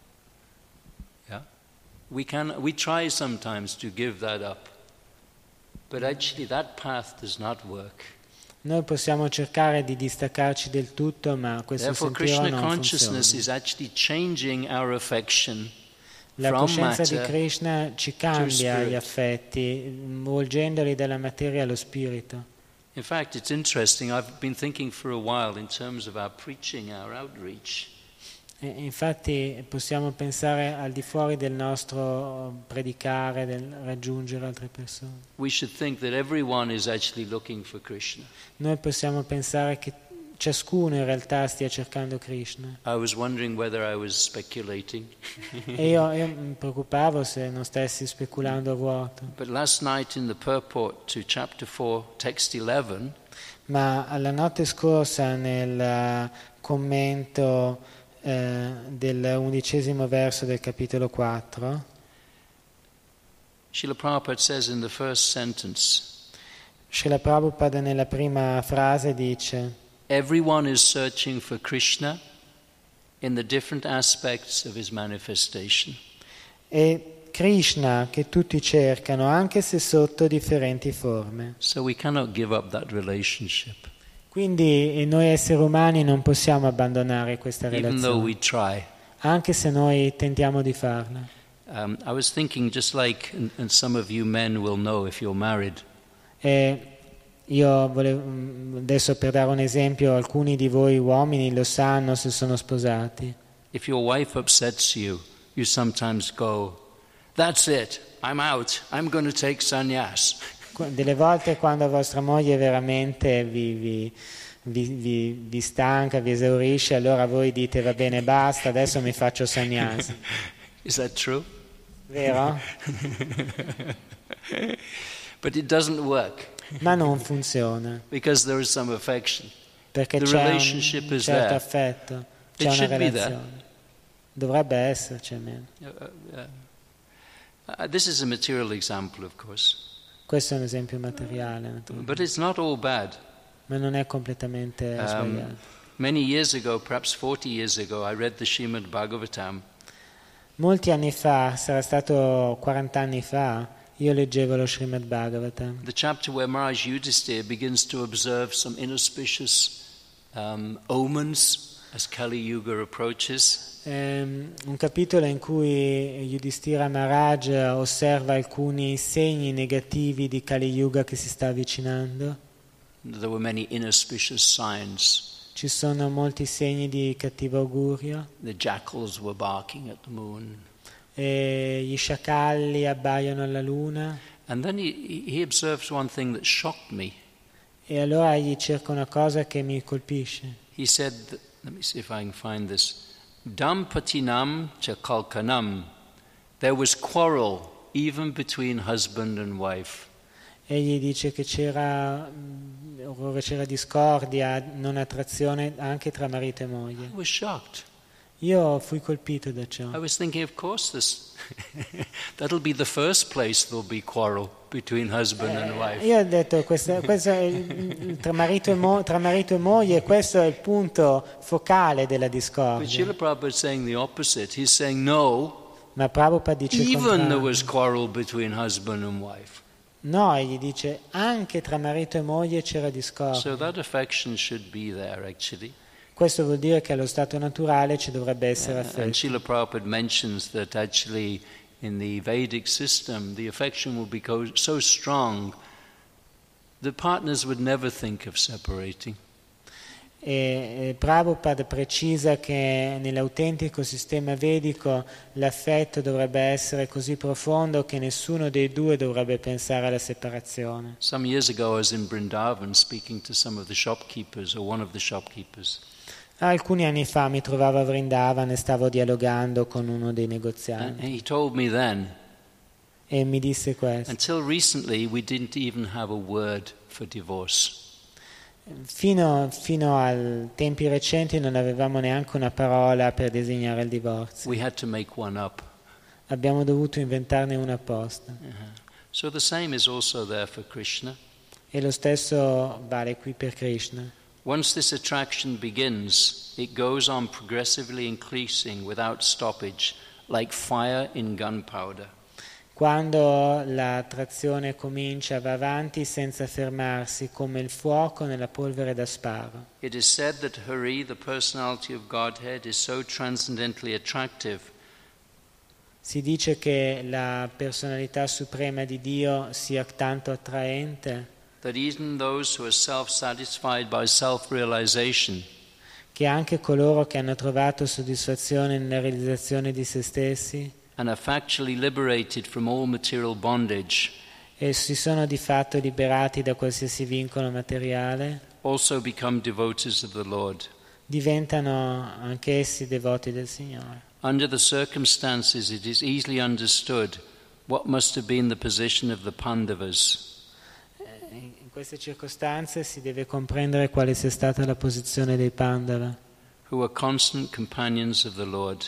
Yeah? We can we try sometimes to give that up. But actually that path does not work. Noi possiamo cercare di distaccarci del tutto, ma questo Therefore sentiero Krishna non consciousness funziona. is actually changing our affection La from coscienza di matter Krishna ci cambia spirit. gli affetti, volgendoli dalla materia allo spirito. In fact, it's interesting. I've been thinking for a while in terms of our preaching, our outreach. E infatti possiamo pensare al di fuori del nostro predicare, del raggiungere altre persone. We should think that everyone is actually looking for Krishna. Noi possiamo pensare che ciascuno in realtà stia cercando Krishna. I was wondering whether I was speculating. E io, io mi preoccupavo se non stessi speculando a vuoto. But last night in the purport to chapter four, text eleven, Ma la notte scorsa nel eh, commento eh, del undicesimo verso del capitolo quattro, Srila Prabhupada says in the first sentence, Srila Prabhupada nella prima frase dice: everyone is searching for Krishna in the different aspects of his manifestation. è Krishna che tutti cercano, anche se sotto differenti forme. So we cannot give up that relationship, Quindi noi esseri umani non possiamo abbandonare questa even though we relazione, try. anche se noi tentiamo di farla. Um, I was thinking, just like, and, and some of you men will know if you're married, E io volevo, adesso per dare un esempio, alcuni di voi uomini lo sanno se sono sposati. if your wife upsets you, you sometimes go, that's it, I'm out, I'm going to take sannyas. Qu- Delle volte quando vostra moglie veramente vi, vi, vi, vi, vi stanca, vi esaurisce, allora voi dite va bene basta, adesso mi faccio sannyasi. Is that true? Vero? But it doesn't work Ma non funziona, because there is some affection. perché The c'è un relationship is certo there. affetto, It c'è una should be there. relazione. Dovrebbe esserci almeno. Uh, uh, uh, this is a material example, of course, Questo è un esempio materiale, naturalmente. but it's not all bad. Ma non è completamente Um, sbagliato. many years ago, perhaps forty years ago, I read the Srimad Bhagavatam. Molti anni fa, sarà stato quaranta anni fa, io leggevo lo Srimad Bhagavatam. The chapter where Maharaj Yudhisthira begins to observe some inauspicious um, omens as Kali Yuga approaches. Ehm, un capitolo in cui Yudhishthira Maharaj osserva alcuni segni negativi di Kali Yuga che si sta avvicinando. There were many inauspicious signs. Ci sono molti segni di cattivo augurio. The jackals were barking at the moon. e gli sciacalli abbaiono alla luna. And then he, he observes one thing that shocked me. E allora gli cerca una cosa che mi colpisce. He said, that, let me see if I can find this. Dampatinam cha kalkanam. There was quarrel even between husband and wife. Egli dice che c'era, c'era discordia, non attrazione anche tra marito e moglie. I was shocked. Io fui colpito da ciò. I was thinking, of course, this that'll be the first place there'll be quarrel between husband and wife. Io ho detto, questo, questo è il, tra, marito e mo, tra marito e moglie, questo è il punto focale della But discordia. Srila Prabhupada is saying the opposite. He's saying, no, Ma Prabhupada dice il even there contrario. was quarrel between husband and wife. No, egli dice, anche tra marito e moglie c'era discordia. So that affection should be there, actually. Questo vuol dire che allo stato naturale ci dovrebbe essere And affetto. Srila Prabhupada mentions that actually in the Vedic system, the affection will become so strong that partners would never think of separating. E eh, Prabhupada precisa che nell'autentico sistema vedico l'affetto dovrebbe essere così profondo che nessuno dei due dovrebbe pensare alla separazione. Some years ago I was in Vrindavan speaking to some of the shopkeepers, or one of the shopkeepers. Alcuni anni fa mi trovavo a Vrindavan e stavo dialogando con uno dei And negozianti he told me then, e mi disse questo. until recently we didn't even have a word for divorce. Fino, fino a tempi recenti non avevamo neanche una parola per designare il divorzio. We had to make one up. Abbiamo dovuto inventarne una apposta. Uh-huh. So the same is also there for Krishna. E lo stesso vale qui per Krishna. Once this attraction begins, it goes on progressively increasing without stoppage, like fire in gunpowder. Quando l'attrazione comincia, va avanti senza fermarsi, come il fuoco nella polvere da sparo. It is said that Hari, the personality of Godhead, is so transcendently attractive Si dice che la personalità suprema di Dio sia tanto attraente that even those who are self-satisfied by self-realization che anche coloro che hanno trovato soddisfazione nella realizzazione di se stessi and are factually liberated from all material bondage e si sono di fatto liberati da qualsiasi vincolo materiale, also become devotees of the Lord. diventano anch'essi devoti del Signore. Under the circumstances, it is easily understood what must have been the position of the Pandavas. In queste circostanze si deve comprendere quale sia stata la posizione dei Pandava. Who were constant companions of the Lord.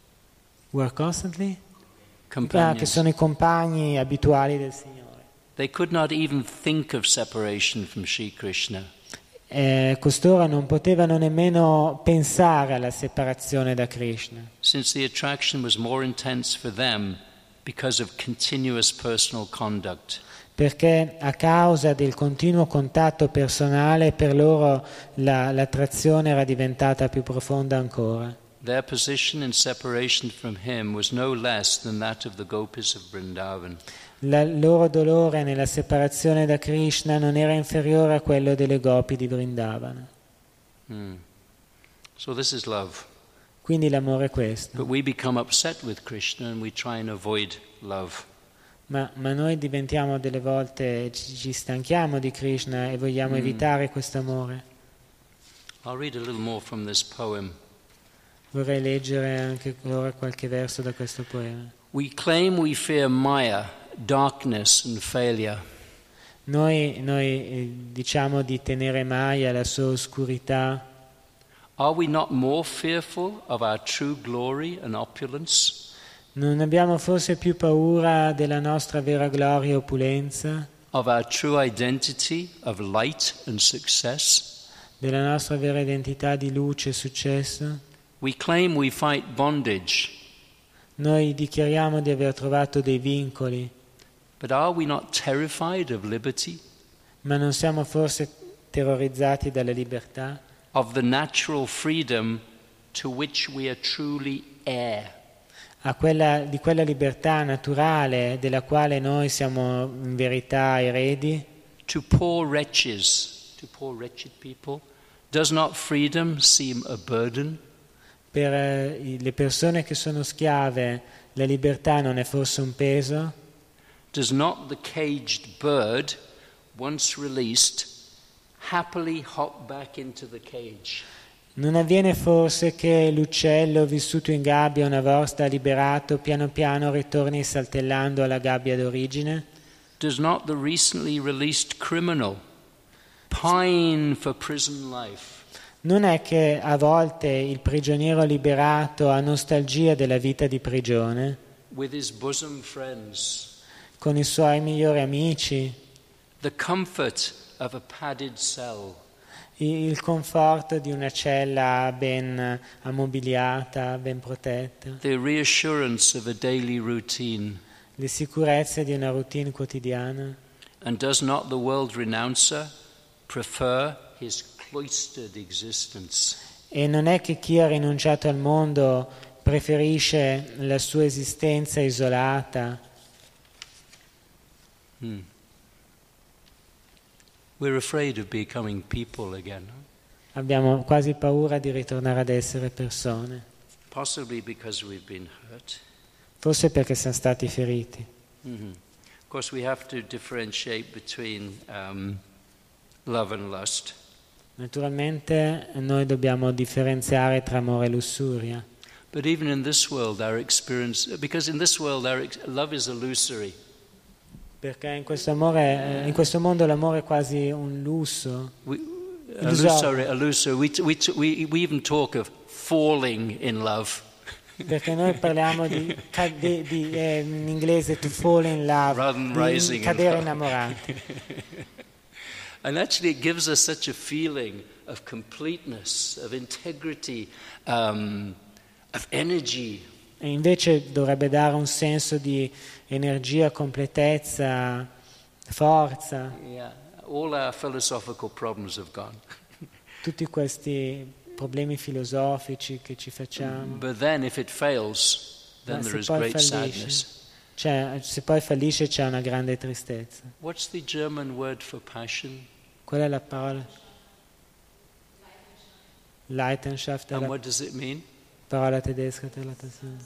Were constantly? Companions. Ah, che sono i compagni abituali del Signore. They could not even think of separation from Sri Krishna. Eh, costoro non potevano nemmeno pensare alla separazione da Krishna, Since the attraction was more intense for them because of continuous personal conduct. perché a causa del continuo contatto personale per loro la, l'attrazione era diventata più profonda ancora. Their position in separation from him was no less than that of the gopis of Vrindavan. Il loro dolore nella separazione da Krishna non era inferiore a quello delle gopi di Vrindavana. Hmm. So this is love. Quindi l'amore è questo. But we become upset with Krishna and we try and avoid love. Ma, ma noi diventiamo delle volte, ci, ci stanchiamo di Krishna e vogliamo Mm. evitare questo amore. I'll read a little more from this poem. Vorrei leggere anche ora qualche verso da questo poema. We claim we fear Maya, darkness and failure. Noi, noi eh, diciamo di tenere Maya, la sua oscurità. Are we not more fearful of our true glory and opulence? Non abbiamo forse più paura della nostra vera gloria e opulenza, Of our true identity of light and success? della nostra vera identità di luce e successo? We claim we fight bondage, Noi dichiariamo di aver trovato dei vincoli, but are we not terrified of liberty? ma non siamo forse terrorizzati dalla libertà? Of the natural freedom to which we are truly heir? A quella, di quella libertà naturale della quale noi siamo in verità eredi? To poor wretches, to poor wretched people, does not freedom seem a burden? Per eh, le persone che sono schiave, La libertà non è forse un peso? Does not the caged bird, once released, happily hop back into the cage? Non avviene forse che l'uccello vissuto in gabbia una volta liberato piano piano ritorni saltellando alla gabbia d'origine? Does not the recently released criminal pine for prison life? Non è che a volte il prigioniero liberato ha nostalgia della vita di prigione? With his bosom friends, Con i suoi migliori amici? the comfort of a padded cell, Il conforto di una cella ben ammobiliata, ben protetta? the reassurance of a daily routine? Le sicurezze di una routine quotidiana? And does not the world renouncer prefer his cloistered existence? E non è che chi ha rinunciato al mondo preferisce la sua esistenza isolata? Hmm. We're afraid of becoming people again, Abbiamo quasi paura di ritornare ad essere persone, possibly because we've been hurt. forse perché siamo stati feriti. Mm-hmm. Of course, we have to differentiate between um, love and lust. Naturalmente noi dobbiamo differenziare tra amore e lussuria, But even in this world, our experience, because in this world, our ex- love is illusory. perché in questo, amore, in questo mondo l'amore è quasi un lusso. We, Illusorio. illusory, illusory. We, t- we, t- we, we even talk of falling in love. Perché noi parliamo di, cade- di eh, in inglese to fall in love, Rather than di rising in cadere love. innamorati. And actually, it gives us such a feeling of completeness, of integrity, um, of energy. E invece dovrebbe dare un senso di energia, completezza, forza. Yeah, all our philosophical problems have gone. Tutti questi problemi filosofici che ci facciamo. But then, if it fails, then Ma there se is poi great fallisce, sadness. cioè, se poi fallisce c'è una grande tristezza. What's the German word for passion? Qual è la parola? Leidenschaft è And la what does it mean? parola tedesca per la passione.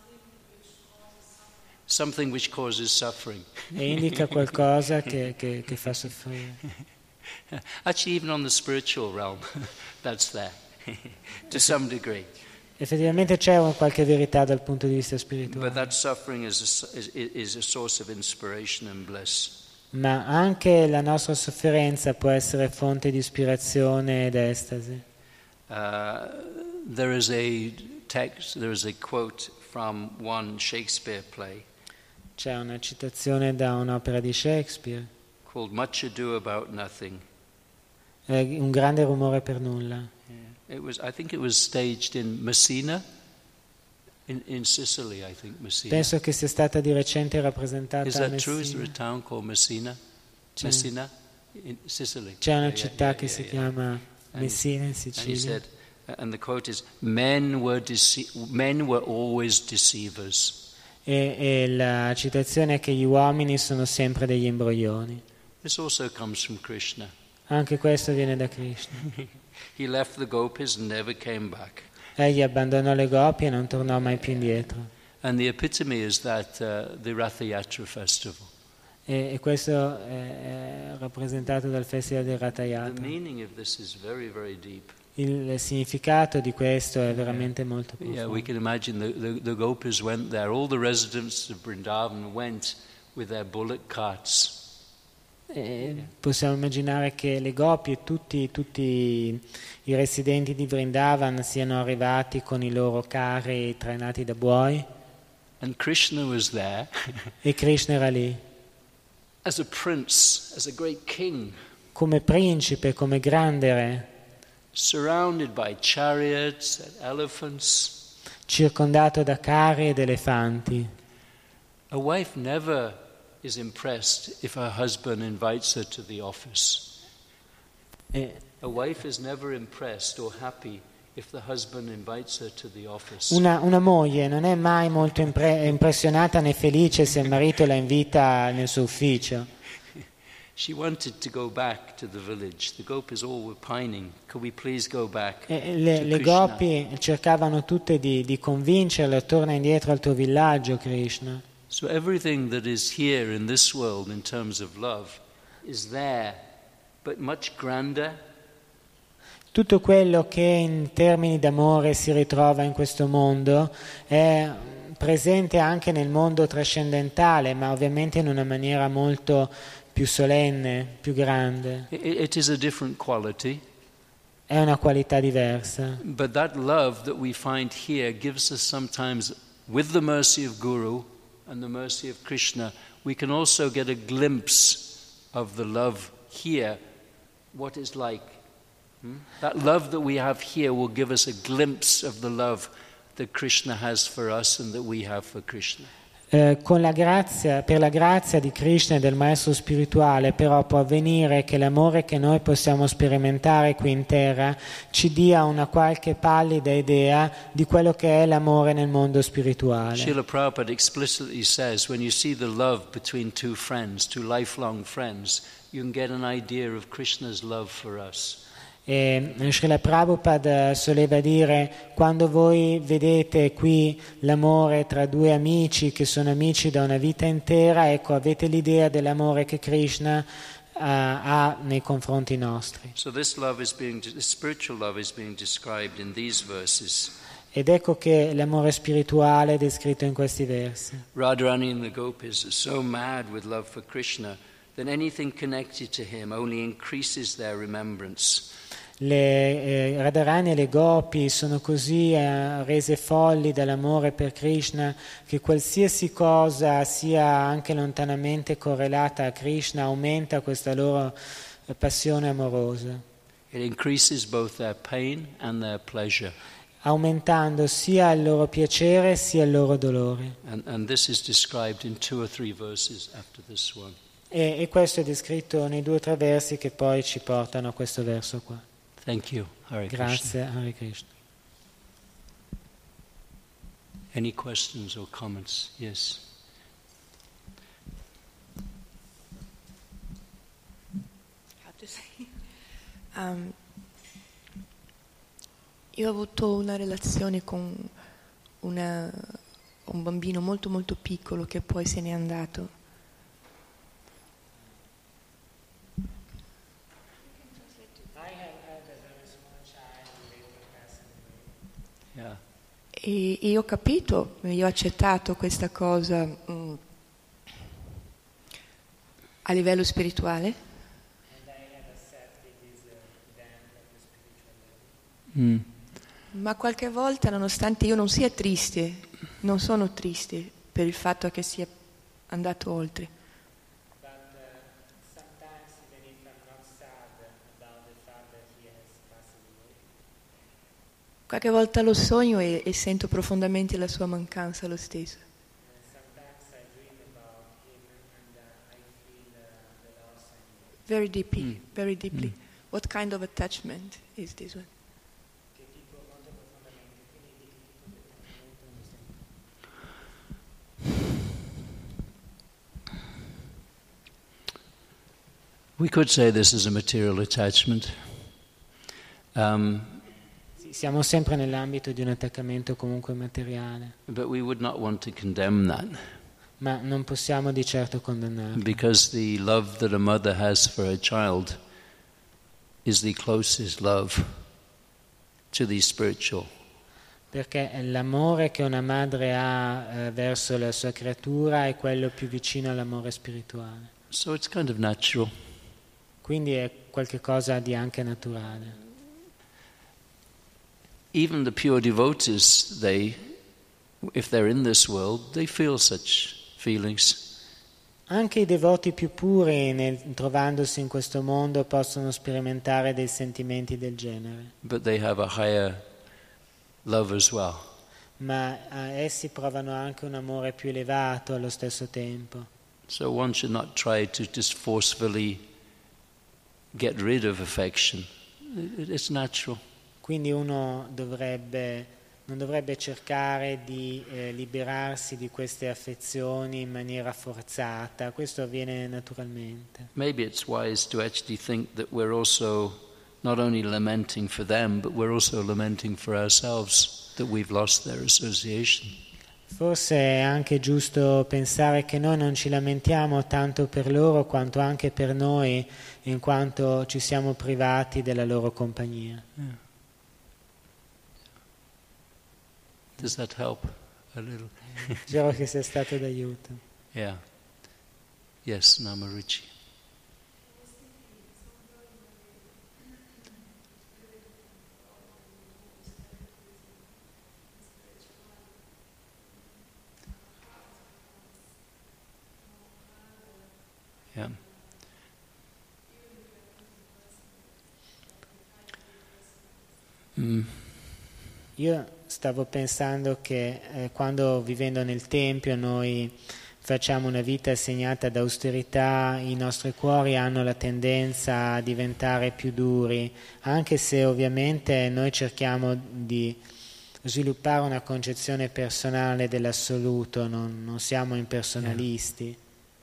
Something which causes suffering. E indica qualcosa che, che, che fa soffrire. Actually, even on the spiritual realm, that's there, to some degree. Effettivamente c'è un- qualche verità dal punto di vista But spirituale, that suffering is a, is, is a source of inspiration and bliss. ma anche la nostra sofferenza può essere fonte di ispirazione ed estasi. Uh, there is a text, there is a quote from one Shakespeare play C'è una citazione da un'opera di Shakespeare, called Much Ado About Nothing. eh, un grande rumore per nulla. It was, I think it was staged in Messina, in, in Sicily, I think, Messina. Penso che sia stata di recente rappresentata Is a that true? Is there a Messina. town called Messina? C'è, Messina? In Sicily. c'è una Yeah, yeah, città yeah, che yeah, si yeah. chiama And- Messina in And he Sicilia. said, and the quote is, men were, dece- men were always deceivers. E, e la citazione è che gli uomini sono sempre degli imbroglioni. This also comes from Krishna. Anche questo viene da Krishna. He left the gopis and never came back. Egli abbandonò le gopi e non tornò mai più indietro. And the epitome is that uh, the Rath Yatra festival. E, e questo è, è rappresentato dal Festival del Ratha The Yatra. meaning of this is very, very deep. Il significato di questo è veramente molto Yeah, we profondo. can imagine the, the, the gopis went there. All the residents of Vrindavan went with their bullock carts. E possiamo immaginare che le gopi e tutti, tutti i residenti di Vrindavan siano arrivati con i loro carri trainati da buoi And Krishna was there e Krishna era lì as a prince, as a great king, come principe, come grande re, surrounded by chariots and elephants. circondato da carri ed elefanti. A wife never is impressed if her husband invites her to the office. E A wife is never impressed or happy if the husband invites her to the office. una, una moglie non è mai molto impre- impressionata né felice se il marito la invita nel suo ufficio. She wanted to go back to the village. The gopis all were pining. Could we please go back E le, to le Krishna? gopi cercavano tutte di, di convincerla, torna indietro al tuo villaggio, Krishna. So everything that is here in this world in terms of love is there, but much grander. Tutto quello che in termini d'amore si ritrova in questo mondo è presente anche nel mondo trascendentale, ma ovviamente in una maniera molto più solenne, più grande. It, it is a different quality. È una qualità diversa. But that love that we find here gives us sometimes, with the mercy of Guru and the mercy of Krishna, we can also get a glimpse of the love here, what it's like. Hmm? That love that we have here will give us a glimpse of the love that Krishna has for us and that we have for Krishna. Eh, con la grazia, per la grazia di Krishna e del Maestro spirituale, però può avvenire che l'amore che noi possiamo sperimentare qui in terra ci dia una qualche pallida idea di quello che è l'amore nel mondo spirituale. Srila Prabhupada explicitly says, when you see the love between two friends, two lifelong friends, you can get an idea of Krishna's love for us. E Srila Prabhupada soleva dire: quando voi vedete qui l'amore tra due amici che sono amici da una vita intera, ecco, avete l'idea dell'amore che Krishna uh, ha nei confronti nostri. So this love is being, this spiritual love is being described in these verses. Ed ecco che l'amore spirituale è descritto in questi versi. Radharani and the gopis are so mad with love for Krishna that anything connected to him only increases their remembrance. Le eh, Radharani e le Gopi sono così eh, rese folli dall'amore per Krishna che qualsiasi cosa sia anche lontanamente correlata a Krishna aumenta questa loro eh, passione amorosa, It increases both their pain and their pleasure. aumentando sia il loro piacere sia il loro dolore. And, and this is described in two or three verses after this one. E, e questo è descritto nei due o tre versi che poi ci portano a questo verso qua. Thank you. Hare Krishna. Grazie, Hare Krishna. Any questions or comments? Yes. How to say? Um, io ho avuto una relazione con una, un bambino molto molto piccolo che poi se n'è andato. Yeah. E io ho capito, io ho accettato questa cosa mh, a livello spirituale. Mm. Ma qualche volta, nonostante io non sia triste, non sono triste per il fatto che sia andato oltre. Qualche volta lo sogno e, e sento profondamente la sua mancanza lo stesso. Very deeply, Mm. very deeply. Mm. What kind of attachment is this one? We could say this is a material attachment. Um, Sì, siamo sempre nell'ambito di un attaccamento comunque materiale, but we would not want to condemn that, ma non possiamo di certo condannarlo. because the love that a mother has for her child is the closest love to the spiritual. Perché l'amore che una madre ha eh, verso la sua creatura è quello più vicino all'amore spirituale. So it's kind of natural. Quindi è qualcosa di anche naturale. Even the pure devotees, they, if they're in this world, they feel such feelings. Anche i devoti più puri, nel, trovandosi in questo mondo, possono sperimentare dei sentimenti del genere. But they have a higher love as well. Ma eh, essi provano anche un amore più elevato allo stesso tempo. So one should not try to just forcefully get rid of affection. It- It's natural. Quindi uno dovrebbe non dovrebbe cercare di eh, liberarsi di queste affezioni in maniera forzata, questo avviene naturalmente. Maybe it's wise to actually think that we're also not only lamenting for them, but we're also lamenting for ourselves that we've lost their association. Forse è anche giusto pensare che noi non ci lamentiamo tanto per loro quanto anche per noi, in quanto ci siamo privati della loro compagnia. Yeah. Does that help a little? Spero che sia stato d'aiuto. Yeah. Yes, Namaruchi. Yeah. Mm. Io stavo pensando che eh, quando vivendo nel Tempio noi facciamo una vita segnata da austerità, i nostri cuori hanno la tendenza a diventare più duri, anche se ovviamente noi cerchiamo di sviluppare una concezione personale dell'assoluto, non, non siamo impersonalisti.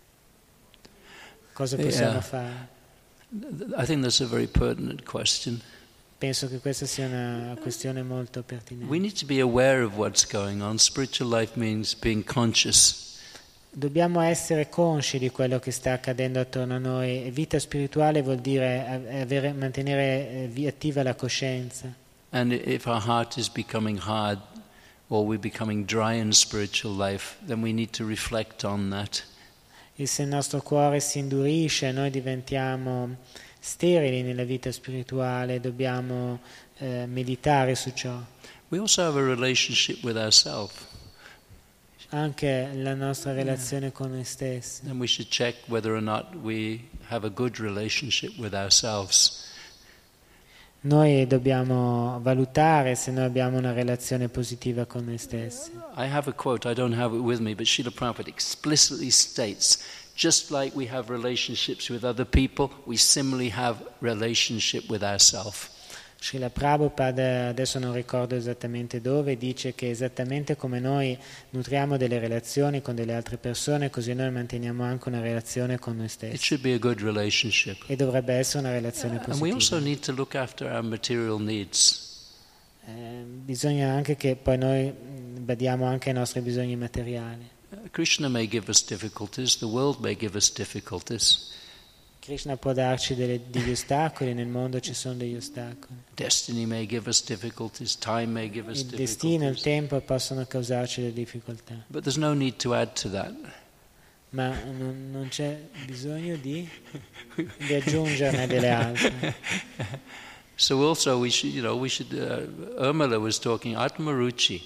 Cosa possiamo Yeah. fare? I think that's a very pertinent question. Penso che questa sia una questione molto We pertinente. need to be aware of what's going on. Spiritual life means being conscious. Dobbiamo essere consci di quello che sta accadendo attorno a noi. E vita spirituale vuol dire avere, mantenere eh, attiva la coscienza. And if our heart is becoming hard or we're becoming dry in spiritual life, then we need to reflect on that. E se il nostro cuore si indurisce, noi diventiamo sterili nella vita spirituale, dobbiamo eh, meditare su ciò. We also have a relationship with ourselves. Anche la nostra relazione con noi stessi. And we should check whether or not we have a good relationship with ourselves. Noi dobbiamo valutare se noi abbiamo una relazione positiva con noi stessi. I have a quote, I don't have it with me, but Srila Prabhupada explicitly states, just like we have relationships with other people, we similarly have relationship with ourselves. Srila Prabhupada, adesso non ricordo esattamente dove, dice che esattamente come noi nutriamo delle relazioni con delle altre persone, così noi manteniamo anche una relazione con noi It stessi. should be a good relationship. E dovrebbe essere una relazione And we also positiva. need to look after our material needs. Eh, bisogna anche che poi noi mh, badiamo anche ai nostri bisogni materiali. Uh, Krishna may give us difficulties, the world may give us difficulties. Krishna può darci delle- degli ostacoli, nel mondo ci sono degli ostacoli. Destiny may give us difficulties, time may give us Il destino e il difficulties. tempo possono causarci delle difficoltà, But there's no need to add to that. ma non, non c'è bisogno di, di aggiungerne delle altre. So also we should, you know, we should, uh, Urmila was talking, Atmaruchi.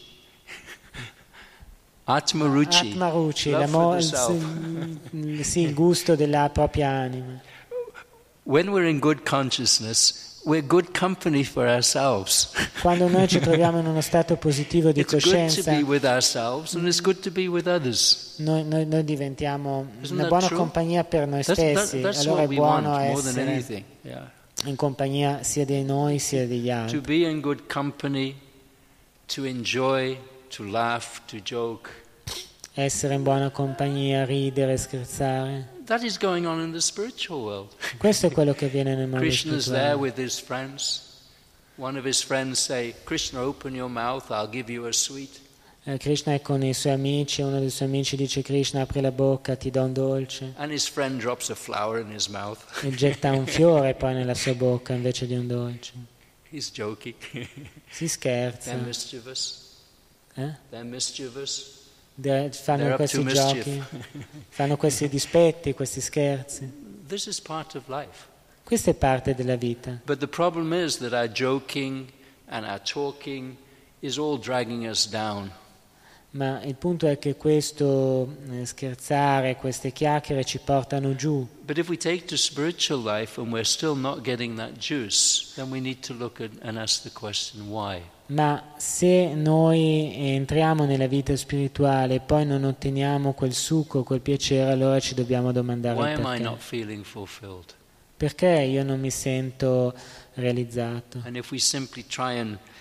Atmaruchi. Atmaruchi, love l'amo- for the il, self. il- sì, il gusto della propria anima. When we're in good consciousness, we're good company for ourselves. Quando noi ci troviamo in uno stato positivo di It's good to coscienza, be with ourselves and it's good to be with others. noi, noi- noi diventiamo Isn't una that buona true? compagnia per noi That's, that- stessi, that's allora what è we want buono more than essere anything. Yeah. in compagnia sia di noi sia degli To altri, be in good company, to enjoy, to laugh, to joke. essere in buona compagnia, ridere, scherzare. That is going on in the spiritual world. Questo è quello che avviene nel mondo Krishna is there spirituale. with his friends. One of his friends say, Krishna, open your mouth, I'll give you a sweet. Eh, Krishna è con i suoi amici, uno dei suoi amici dice: Krishna, apri la bocca, ti do un dolce, And his friend drops a flower in his mouth. e getta un fiore poi nella sua bocca invece di un dolce. He's joking. Si scherza, They're mischievous. eh? They're mischievous. De- They're fanno up questi to mischief. giochi, fanno questi dispetti, questi scherzi. This is part of life. Questa è parte della vita. But the problem is that our joking and our talking is all dragging us down. Ma il punto è che questo eh, scherzare, queste chiacchiere ci portano giù. But if we take to spiritual life and we're still not getting that juice, then we need to look at and ask the question, why? Ma se noi entriamo nella vita spirituale e poi non otteniamo quel succo, quel piacere, allora ci dobbiamo domandare Why il am I perché. not feeling fulfilled? Perché io non mi sento realizzato? And if we simply try and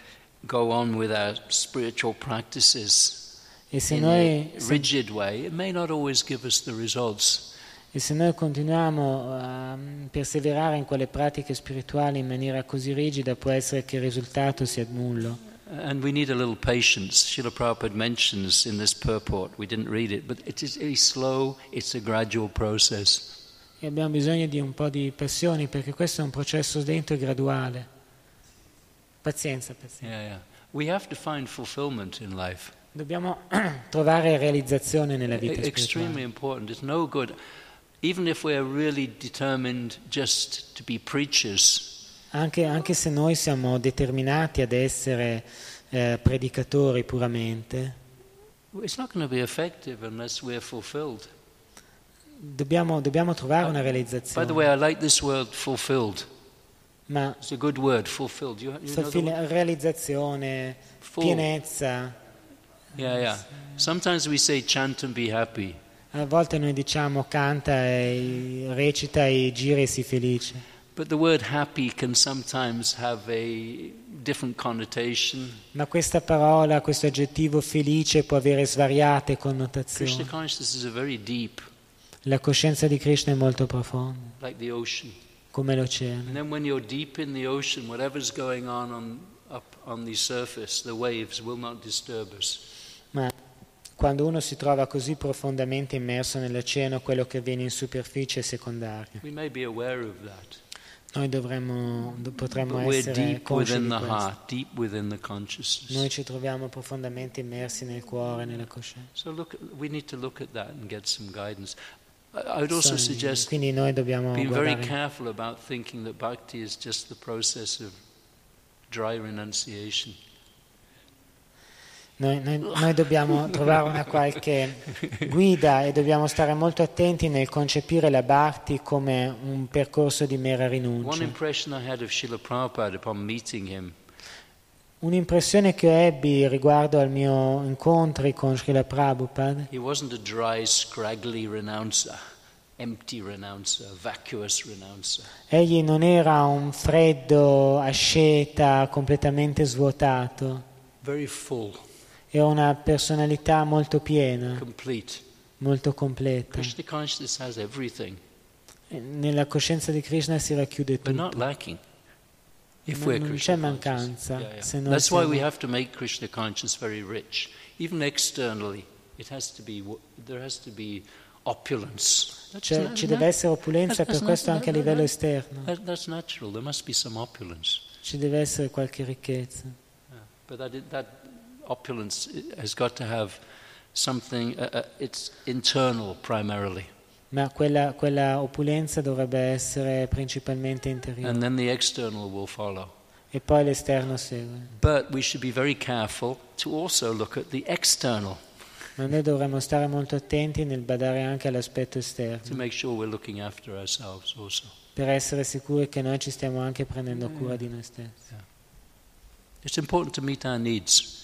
go on with our spiritual practices E se in noi, a se, rigid way, it may not always give us the results. e se noi continuiamo a perseverare in quelle pratiche spirituali in maniera così rigida, può essere che il risultato sia nullo. And we need a little patience. Srila Prabhupada mentions in this purport, we didn't read it, but it is very slow, it's a gradual process. E abbiamo bisogno di un po' di passione, perché questo è un processo lento e graduale. Pazienza, pazienza. Yeah, yeah. We have to find fulfillment in life. Dobbiamo trovare realizzazione nella vita E- extremely spirituale. important. It's no good, even if we are really determined just to be preachers. Anche, anche se noi siamo determinati ad essere eh, predicatori puramente, It's not going to be effective unless we're fulfilled. dobbiamo, dobbiamo trovare una By the realizzazione. way, I like this word fulfilled. Ma It's a good word, fulfilled. You, you know the fulfill- word? realizzazione, Full. pienezza. Yeah, yeah. Sometimes we say chant and be happy. A volte noi diciamo canta e recita e gira e sii felice. But the word happy can sometimes have a different connotation. Ma questa parola, questo aggettivo felice può avere svariate Krishna connotazioni. consciousness is a very deep, La coscienza di Krishna è molto profonda, like the ocean. come l'oceano. And then when you're deep in the ocean, whatever's going on, on up on the surface, the waves will not disturb us. Ma quando uno si trova così profondamente immerso nell'oceano, quello che avviene in superficie è secondario. We may be aware of that. Noi dovremmo, do- potremmo But we're essere deep consci within di the questo. heart, deep within the consciousness. Noi ci troviamo profondamente immersi nel cuore, nella coscienza. So look, we need to look at that and get some guidance. I I would also So, suggest quindi noi dobbiamo being very guardare, careful about thinking that bhakti is just the process of dry renunciation. noi, noi- noi dobbiamo trovare una qualche guida e dobbiamo stare molto attenti nel concepire la bhakti come un percorso di mera One rinuncia. impression I had of Srila Prabhupada upon meeting him, Un'impressione che ebbi riguardo al mio incontri con Srila Prabhupada, he wasn't a dry, scraggly renouncer, empty renouncer, vacuous renouncer. egli non era un freddo asceta completamente svuotato, Very full, era una personalità molto piena, complete. molto completa. Krishna consciousness has everything, E nella coscienza di Krishna si racchiude but not tutto. lacking. If Non- we're non Krishna c'è mancanza conscious. Yeah, yeah. se noi That's why siamo- we have to make Krishna conscious very rich, even externally. It has to be. There has to be opulence. That's Cioè, na- ci na- deve essere opulenza that's- per that's questo not- anche a that- livello that- esterno, that- That's natural. There must be some opulence. ci deve essere qualche ricchezza. Yeah. But that, that opulence has got to have something. Uh, uh, it's internal primarily, Ma quella, quella opulenza dovrebbe essere principalmente interiore and then the external will follow. e poi l'esterno segue. But we should be very careful to also look at the external Ma noi dovremmo stare molto attenti nel badare anche all'aspetto to esterno, make sure we're looking after ourselves also. per essere sicuri che noi ci stiamo anche prendendo cura di noi stessi. It's important to meet our needs.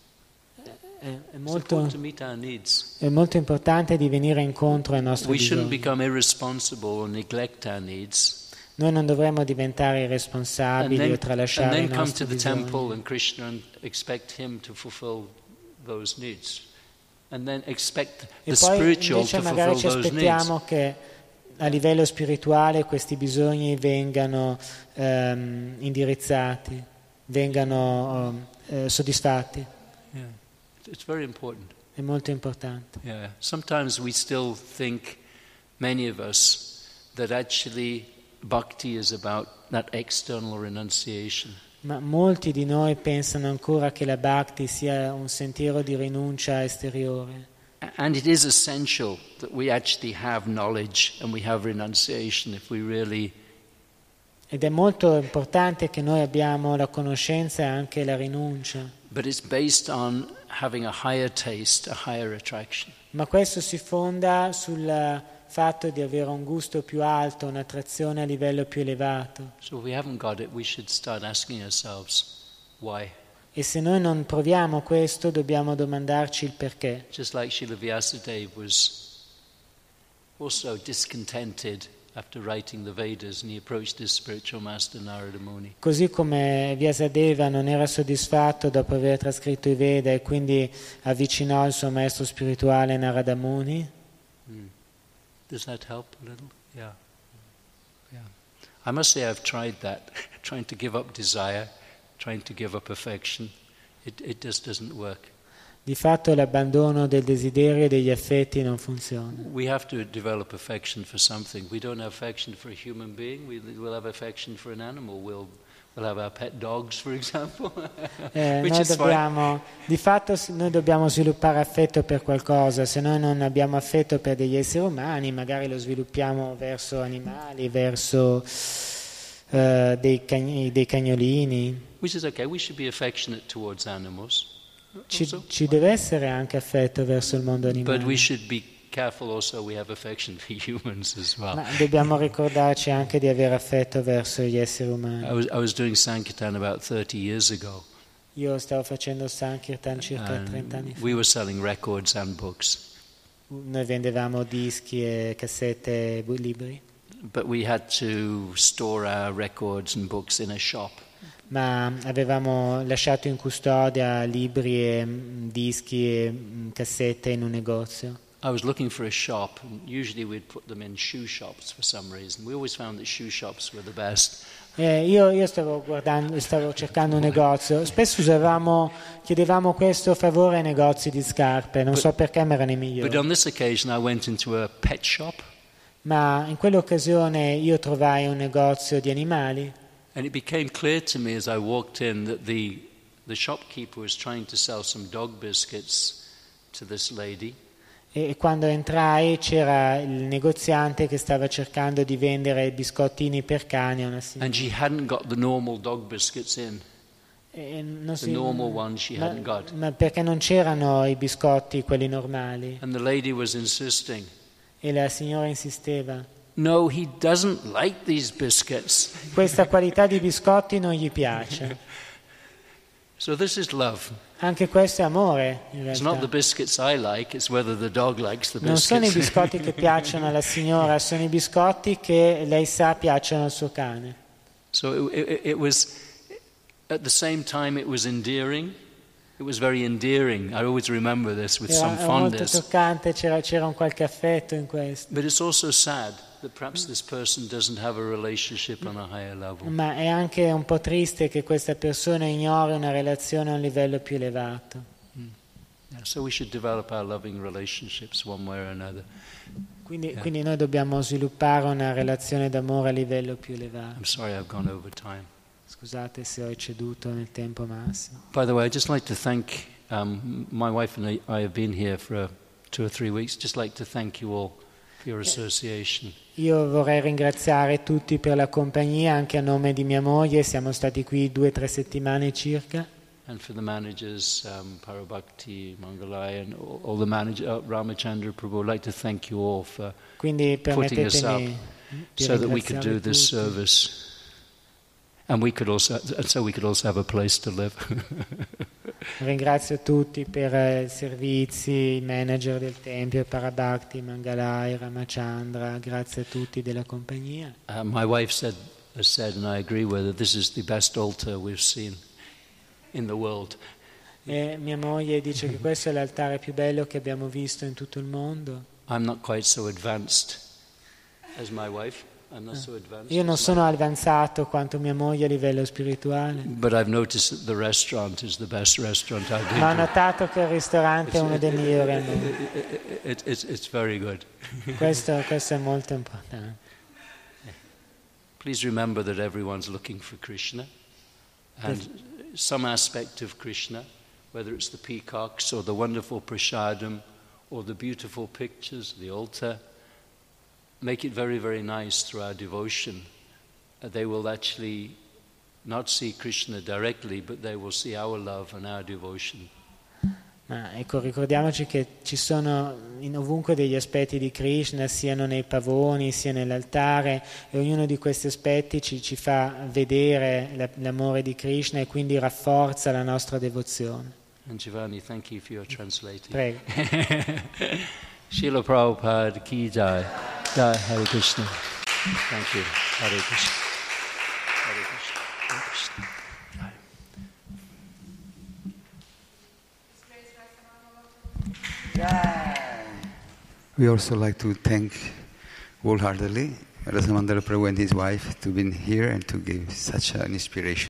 È, è It's molto, important to meet our needs. è molto importante di venire incontro ai nostri We shouldn't bisogni. become irresponsible or neglect our needs. Noi non dovremmo diventare And irresponsabili then, o and tralasciare then i come to nostri the bisogni. temple and Krishna and expect him to fulfill those needs. And then expect E the poi spiritual invece to magari ci fulfill those needs. aspettiamo che a livello spirituale questi bisogni vengano ehm, indirizzati, vengano eh, soddisfatti. Yeah. It's very important. È molto importante. Yeah. Sometimes we still think, many of us, that actually bhakti is about that external renunciation. Ma molti di noi pensano ancora che la bhakti sia un sentiero di rinuncia esteriore. And it is essential that we actually have knowledge and we have renunciation if we really. Ed è molto importante che noi abbiamo la conoscenza e anche la rinuncia. But it's based on having a higher taste, a higher attraction. Ma questo si fonda sul fatto di avere un gusto più alto, un'attrazione a livello più elevato. So if we haven't got it, we should start asking ourselves why. E se noi non proviamo questo, dobbiamo domandarci il perché. Just like Srila Vyasadeva was also discontented after writing the Vedas, and he approached his spiritual master Narada Muni. Così come Vyasadeva non era soddisfatto dopo aver trascritto i Veda e quindi avvicinò il suo maestro spirituale Narada Muni. Mm. Does that help a little? Yeah. Yeah. I must say I've tried that, trying to give up desire, trying to give up affection. It, it just doesn't work. Di fatto l'abbandono del desiderio e degli affetti non funziona. We have to develop affection for something. We don't have affection for a human being. We will have affection for an animal. We'll we'll have our pet dogs, for example. eh, noi dobbiamo, di fatto noi dobbiamo sviluppare affetto per qualcosa. Se noi non abbiamo affetto per degli esseri umani, magari lo sviluppiamo verso animali, verso uh, dei, cagn- dei cagnolini. Which is okay. We should be affectionate towards animals. Ci, ci deve essere anche affetto verso il mondo animale. But we should be careful also we have affection for humans as well. Ma dobbiamo ricordarci anche di avere affetto verso gli esseri umani. I was, I was doing Sankirtan about thirty years ago. Io stavo facendo Sankirtan circa trenta anni fa. We were selling records and books. Noi vendevamo dischi e cassette e libri. But we had to store our records and books in a shop. Ma avevamo lasciato in custodia libri e dischi e cassette in un negozio. I was looking for a shop, and usually we'd put them in shoe shops for some reason. We always found that shoe shops were the best. Eh, io, io stavo guardando, stavo cercando un negozio. Spesso usavamo, chiedevamo questo favore ai negozi di scarpe, non but, so perché, ma erano i migliori. But on this occasion I went into a pet shop. Ma in quell'occasione io trovai un negozio di animali. And it became clear to me as I walked in that the the shopkeeper was trying to sell some dog biscuits to this lady. E quando entrai c'era il negoziante che stava cercando di vendere biscottini per cani a una signora. And she hadn't got the normal dog biscuits in. E non The si, normal ones she ma, hadn't got. ma perché non c'erano i biscotti quelli normali? And the lady was insisting. E la signora insisteva. No, he doesn't like these biscuits. Questa qualità di biscotti non gli piace. So this is love. Anche questo è amore, in It's not the realtà. biscuits I like, it's whether the dog likes the Non sono i biscuits. biscotti che piacciono alla signora, sono i biscotti che lei sa piacciono al suo cane. So it, it, it was, at the same time it was endearing. It was very endearing. I always remember this with some Era, era molto fondness. toccante, c'era, c'era un qualche affetto in questo. But it's also sad that perhaps this person doesn't have a relationship on a higher level. Ma è anche un po' triste che questa persona ignori una relazione a un livello più elevato. Mm. Yeah, so we should develop our loving relationships one way or another. Quindi, Yeah. quindi noi dobbiamo sviluppare una relazione d'amore a livello più elevato. I'm sorry I've gone over time. Scusate se ho ecceduto nel tempo massimo. By the way, I'd just like to thank um, my wife and I, I have been here for uh, two or three weeks. Just like to thank you all for your association. Io vorrei ringraziare tutti per la compagnia, anche a nome di mia moglie, siamo stati qui due o tre settimane circa. And for the managers, um, Parabhakti, Mangalai, and all, all the managers, uh, Ramachandra Prabhu, I'd like to thank you all for Quindi putting us up permettetemi di so that we could do ringraziare this tutti. service. And we could also, and so we could also have a place to live. Ringrazio tutti per eh, i servizi, i manager del Tempio, Parabhakti, Mangalai, Ramachandra, grazie a tutti della compagnia. Uh, my wife said, has said, and I agree with her, this is the best altar we've seen in the world. E mia moglie dice che questo è l'altare più bello che abbiamo visto in tutto il mondo. I'm not quite so advanced as my wife. I'm not so advanced. Io non as sono avanzato quanto mia moglie a livello spirituale, my- But I've noticed that the restaurant is the best restaurant I've been ma ho to. notato che il ristorante è uno dei migliori al mondo. It, it, it's, it's very good. Questo, questo è molto importante. Please remember that everyone's looking for Krishna, and some aspect of Krishna, whether it's the peacocks or the wonderful prasadam or the beautiful pictures, the altar, make it very, very nice through our devotion. Uh, they will actually not see Krishna directly, but they will see our love and our devotion. Ma ecco, ricordiamoci che ci sono in ovunque degli aspetti di Krishna, siano nei pavoni, sia nell'altare, e ognuno di questi aspetti ci, ci fa vedere la- l'amore di Krishna e quindi rafforza la nostra devozione. And Giovanni, thank you for your translating. Prego. Srila Prabhupada ki jai. Jai Hare Krishna. Thank you. Hare Krishna. Hare Krishna. Hare Krishna. We also like to thank wholeheartedly Rasamandala Prabhu and his wife to be here and to give such an inspiration.